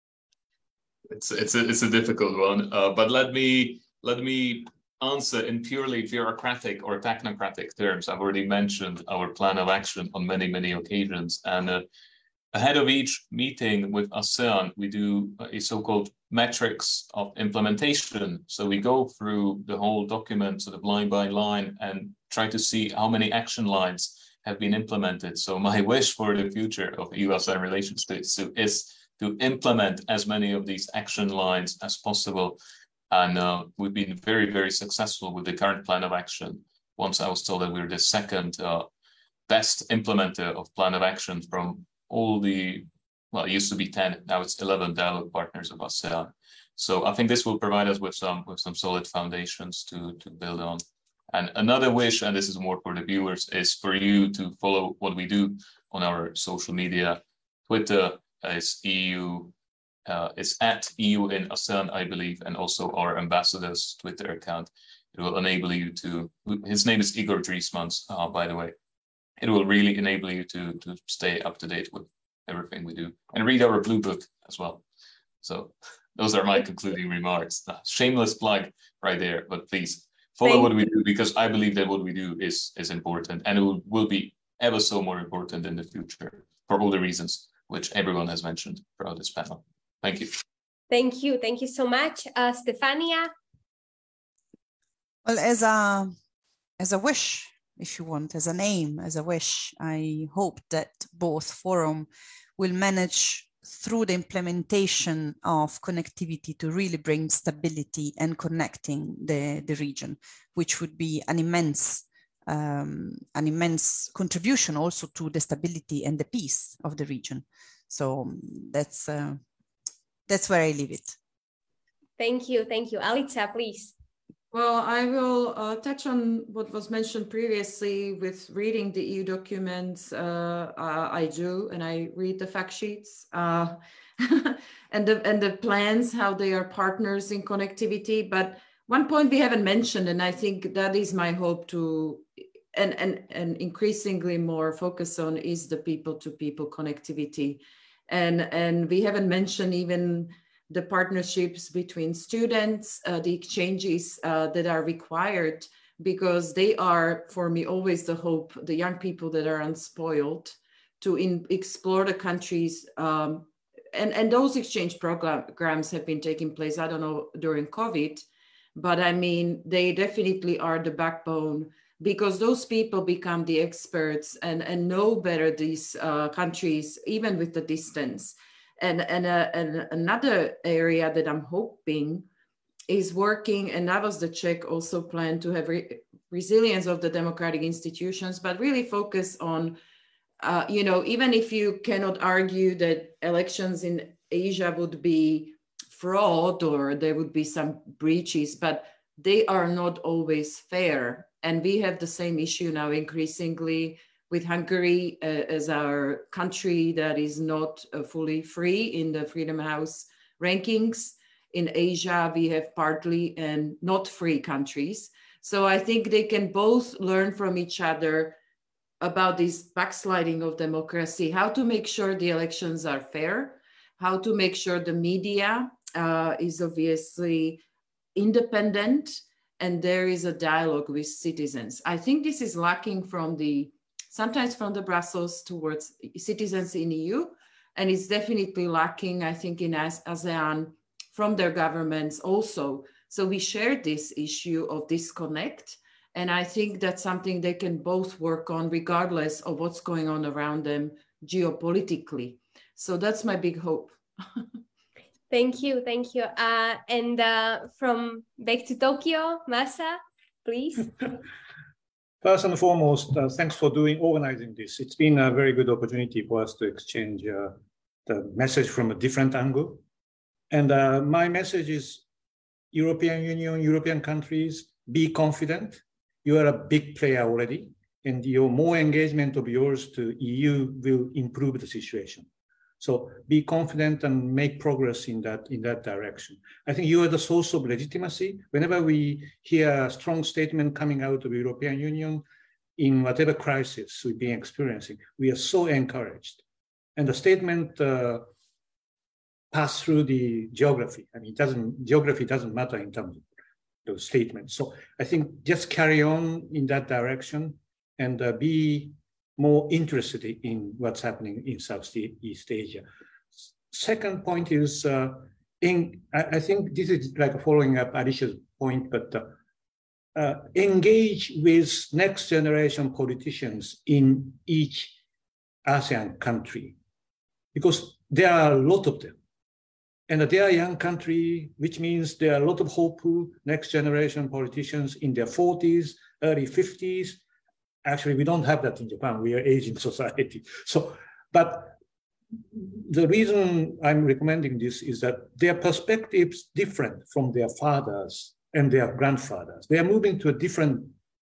B: It's it's a it's a difficult one, uh, but let me let me answer in purely bureaucratic or technocratic terms. I've already mentioned our plan of action on many many occasions, and uh, ahead of each meeting with ASEAN, we do a so-called metrics of implementation. So we go through the whole document sort of line by line and try to see how many action lines have been implemented. So my wish for the future of E U ASEAN relations is to implement as many of these action lines as possible. And uh, we've been very, very successful with the current plan of action. Once I was told that we're the second uh, best implementer of plan of action from all the, well, it used to be ten, now it's eleven dialogue partners of ASEAN. So I think this will provide us with some with some solid foundations to, to build on. And another wish, and this is more for the viewers, is for you to follow what we do on our social media. Twitter is E U, uh, it's at E U in ASEAN, I believe, and also our ambassador's Twitter account. It will enable you to, his name is Igor Driesmans, uh, by the way. It will really enable you to, to stay up to date with everything we do and read our blue book as well. So those are my concluding remarks. Uh, shameless plug right there, but please follow Thank what we do, because I believe that what we do is, is important, and it will, will be ever so more important in the future for all the reasons which everyone has mentioned throughout this panel. Thank you.
A: Thank you. Thank you so much. Uh, Stefania?
C: Well, as a, as a wish, if you want, as an aim, as a wish. I hope that both forum will manage through the implementation of connectivity to really bring stability and connecting the, the region, which would be an immense, um, an immense contribution also to the stability and the peace of the region. So that's, uh, that's where I leave it.
A: Thank you, thank you. Alica, please.
D: Well, I will uh, touch on what was mentioned previously with reading the E U documents. Uh, uh, I do, and I read the fact sheets uh, and, the, and the plans, how they are partners in connectivity. But one point we haven't mentioned, and I think that is my hope to, and, and, and increasingly more focus on, is the people-to-people connectivity. And, and we haven't mentioned even the partnerships between students, uh, the exchanges uh, that are required, because they are, for me, always the hope, the young people that are unspoiled, to in, explore the countries. Um, and, and those exchange programs have been taking place, I don't know, during COVID, but I mean, they definitely are the backbone, because those people become the experts and, and know better these uh, countries, even with the distance. And, and, uh, and another area that I'm hoping is working, and that was the Czech also plan, to have re resilience of the democratic institutions, but really focus on, uh, you know, even if you cannot argue that elections in Asia would be fraud or there would be some breaches, but they are not always fair. And we have the same issue now increasingly with Hungary uh, as our country that is not uh, fully free in the Freedom House rankings. In Asia, we have partly and not free countries. So I think they can both learn from each other about this backsliding of democracy, how to make sure the elections are fair, how to make sure the media uh, is obviously independent, and there is a dialogue with citizens. I think this is lacking from the sometimes from the Brussels towards citizens in E U, and it's definitely lacking, I think, in ASEAN from their governments also. So we share this issue of disconnect, and I think that's something they can both work on regardless of what's going on around them geopolitically. So that's my big hope.
A: Thank you, thank you. Uh, and uh, from back to Tokyo, Masa, please.
E: First and foremost, uh, thanks for doing organizing this. It's been a very good opportunity for us to exchange uh, the message from a different angle. And uh, my message is European Union, European countries, be confident. You are a big player already, and your more engagement of yours to E U will improve the situation. So be confident and make progress in that, in that direction. I think you are the source of legitimacy. Whenever we hear a strong statement coming out of the European Union in whatever crisis we've been experiencing, we are so encouraged. And the statement uh, passed through the geography. I mean, it doesn't, geography doesn't matter in terms of those statements. So I think just carry on in that direction and uh, be more interested in what's happening in Southeast Asia. Second point is, uh, in, I, I think this is like following up Alicia's point, but uh, uh, engage with next generation politicians in each ASEAN country, because there are a lot of them. And they are a young country, which means there are a lot of hopeful next generation politicians in their forties, early fifties. Actually, we don't have that in Japan. We are aging society. So, but the reason I'm recommending this is that their perspectives different from their fathers and their grandfathers. They are moving to a different,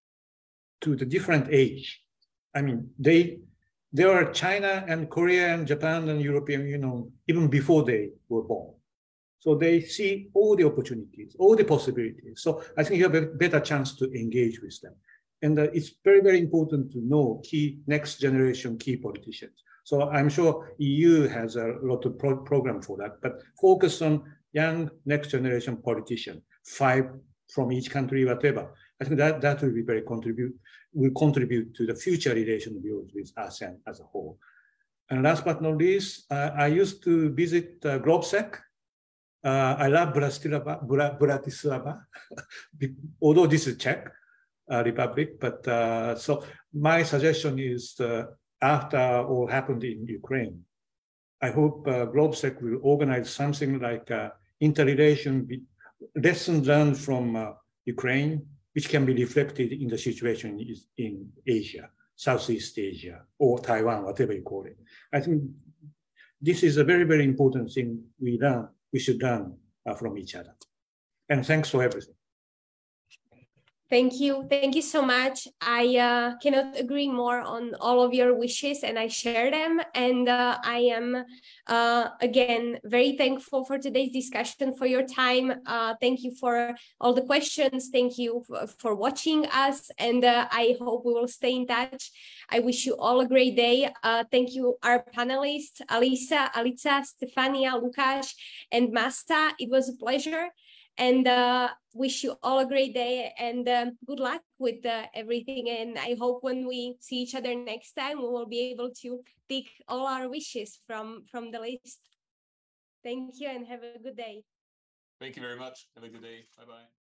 E: to the different age. I mean, they, there are China and Korea and Japan and European Union even before they were born. So they see all the opportunities, all the possibilities. So I think you have a better chance to engage with them. And uh, it's very, very important to know key next generation key politicians. So I'm sure E U has a lot of pro program for that, but focus on young next generation politicians, five from each country, whatever. I think that, that will be very contribute, will contribute to the future relation of yours with ASEAN as a whole. And last but not least, uh, I used to visit uh, GlobSec. Uh, I love Bratislava, Bratislava although this is Czech. uh, Republic. But uh, so my suggestion is uh, after all happened in Ukraine, I hope uh, GlobeSec will organize something like uh, interrelation, lessons learned from uh, Ukraine, which can be reflected in the situation in Asia, Southeast Asia, or Taiwan, whatever you call it. I think this is a very, very important thing we learn, we should learn uh, from each other. And thanks for everything.
A: Thank you. Thank you so much. I uh, cannot agree more on all of your wishes, and I share them. And uh, I am, uh, again, very thankful for today's discussion, for your time. Uh, thank you for all the questions. Thank you for watching us. And uh, I hope we will stay in touch. I wish you all a great day. Uh, thank you, our panelists, Alisa, Alica, Stefania, Lukáš, and Masta. It was a pleasure. And uh, wish you all a great day, and um, good luck with uh, everything. And I hope when we see each other next time, we will be able to pick all our wishes from, from the list. Thank you and have a good day.
B: Thank you very much. Have a good day. Bye-bye.